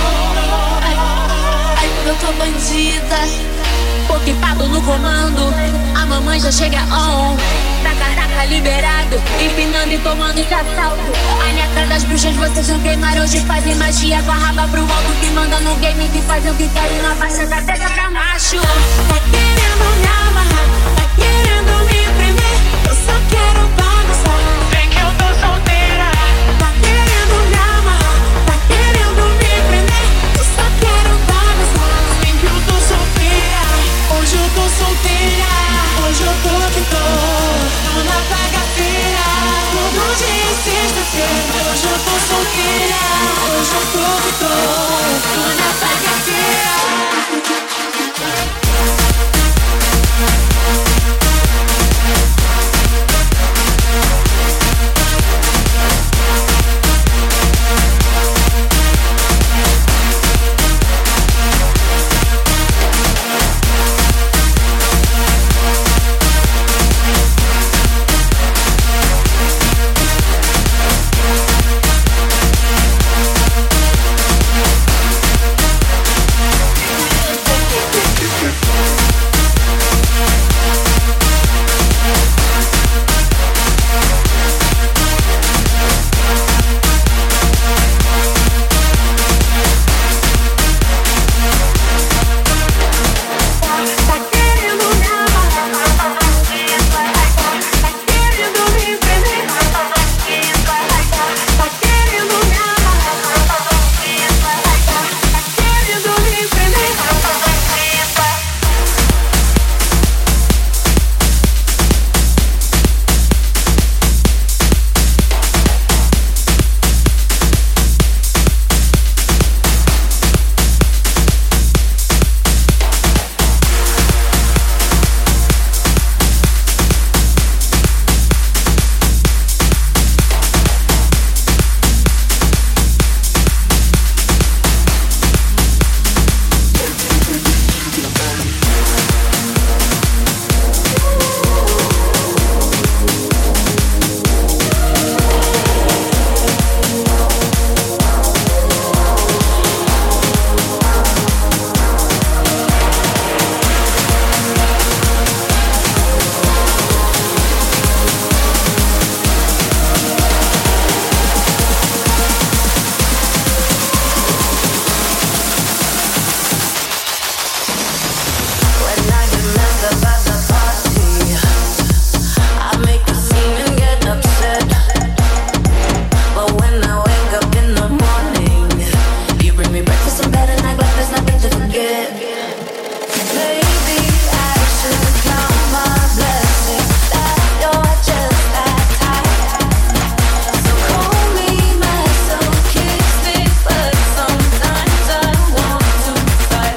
Ai, como eu tô bandida. Pokepado no comando. A mamãe já chega on. Taca liberado. Empinando e tomando de assalto. A neta das bruxas vocês não queimaram. Hoje fazem magia com a raba pro alto. Que manda no game que fazem o que querem. Na baixa da terra pra macho. Tá querendo me amarrar, tá querendo me prender. Eu só quero balançar, vem que eu tô solteira. Tá querendo me amarrar, tá querendo me prender. Eu só quero balançar, vem que eu tô solteira. Hoje eu tô solteira, hoje eu tô que tô na bagaceira. Todo dia é sexta-feira. Hoje eu tô solteira, hoje eu tô que tô na bagaceira. some better like life, there's nothing to forget. Maybe I should count my blessings that you're just that tight. So call me myself, kiss me, but sometimes I want to fight.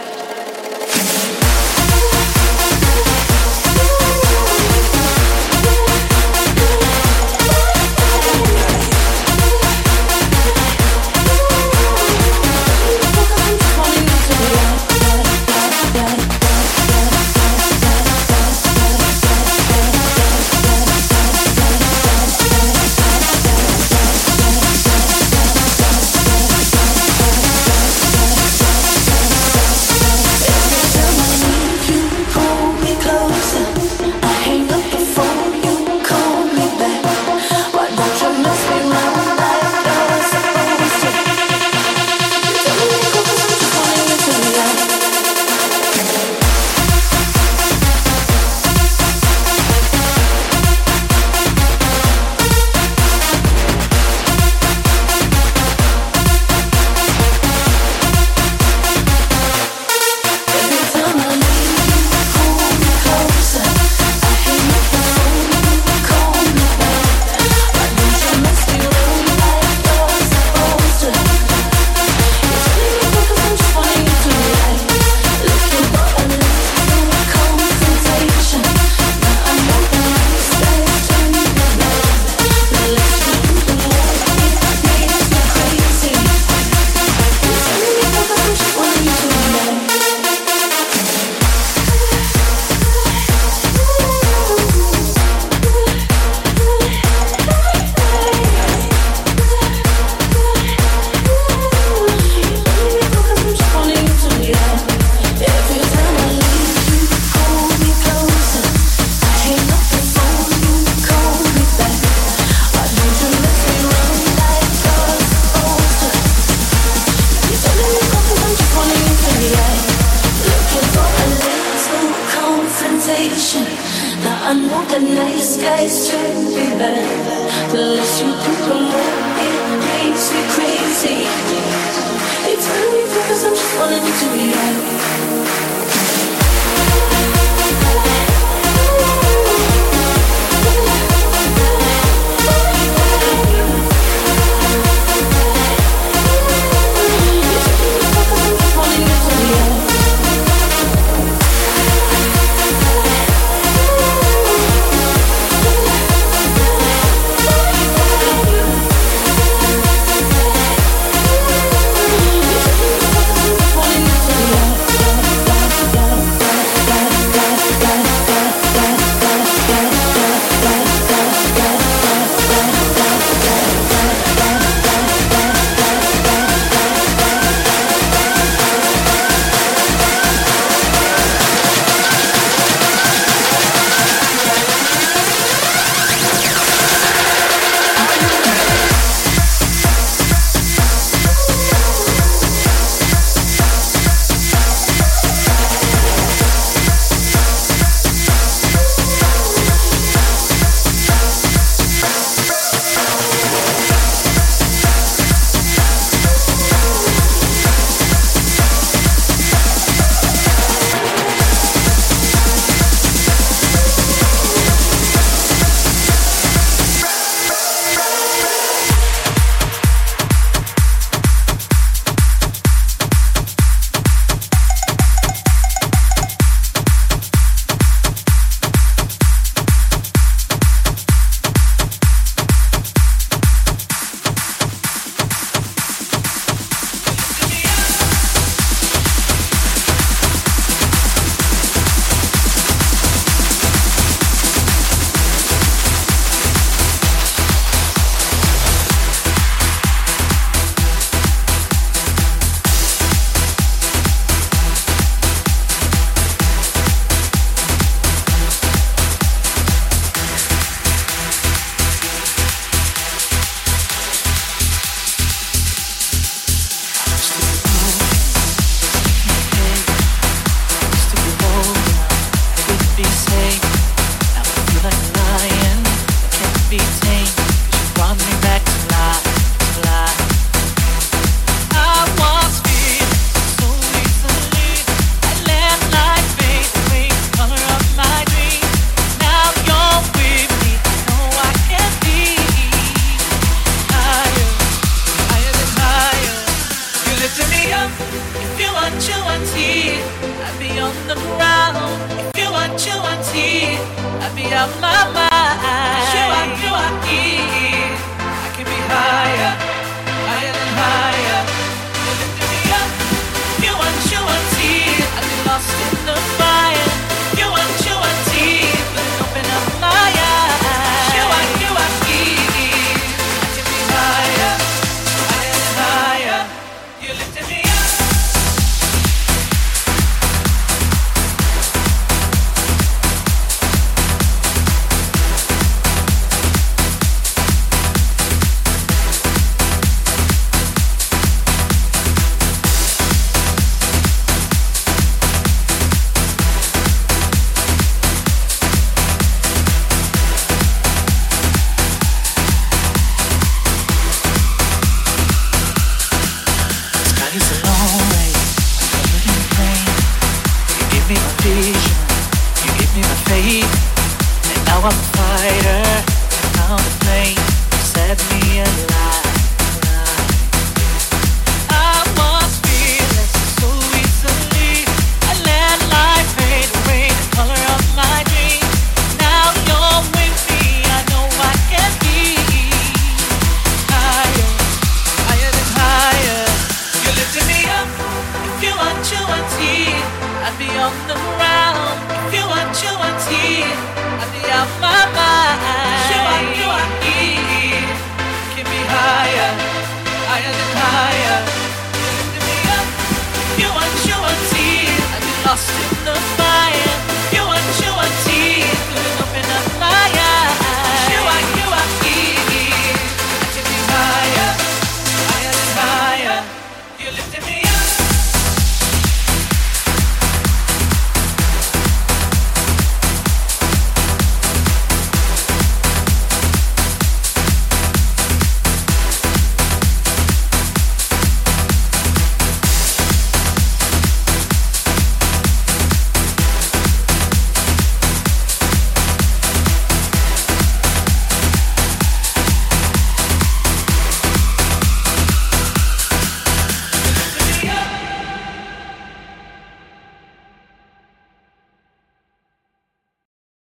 Now I know the nice guys turn me bad. The less you do, the more it makes me crazy. It's really because I'm just wanting you to be right. If you want tea, I'd be on the ground. If you want tea, I'd be out my mind. If you want tea, I can be higher, higher than higher. You're lifting me up. If you want tea, I'd be lost in the fire. If you want tea, then open up my eyes. If you want tea, I can be higher, higher than higher. You're lifting me up. I'm a fighter, I'm a plane, set me alive. I must feel it so easily. I let life fade away the color of my dreams. Now you're with me, I know I can be higher, higher than higher. You're lifting me up. If you want tea, I'd be on the ground. If you want tea, I'd be out my mind. You are here. Keep me higher, higher than higher.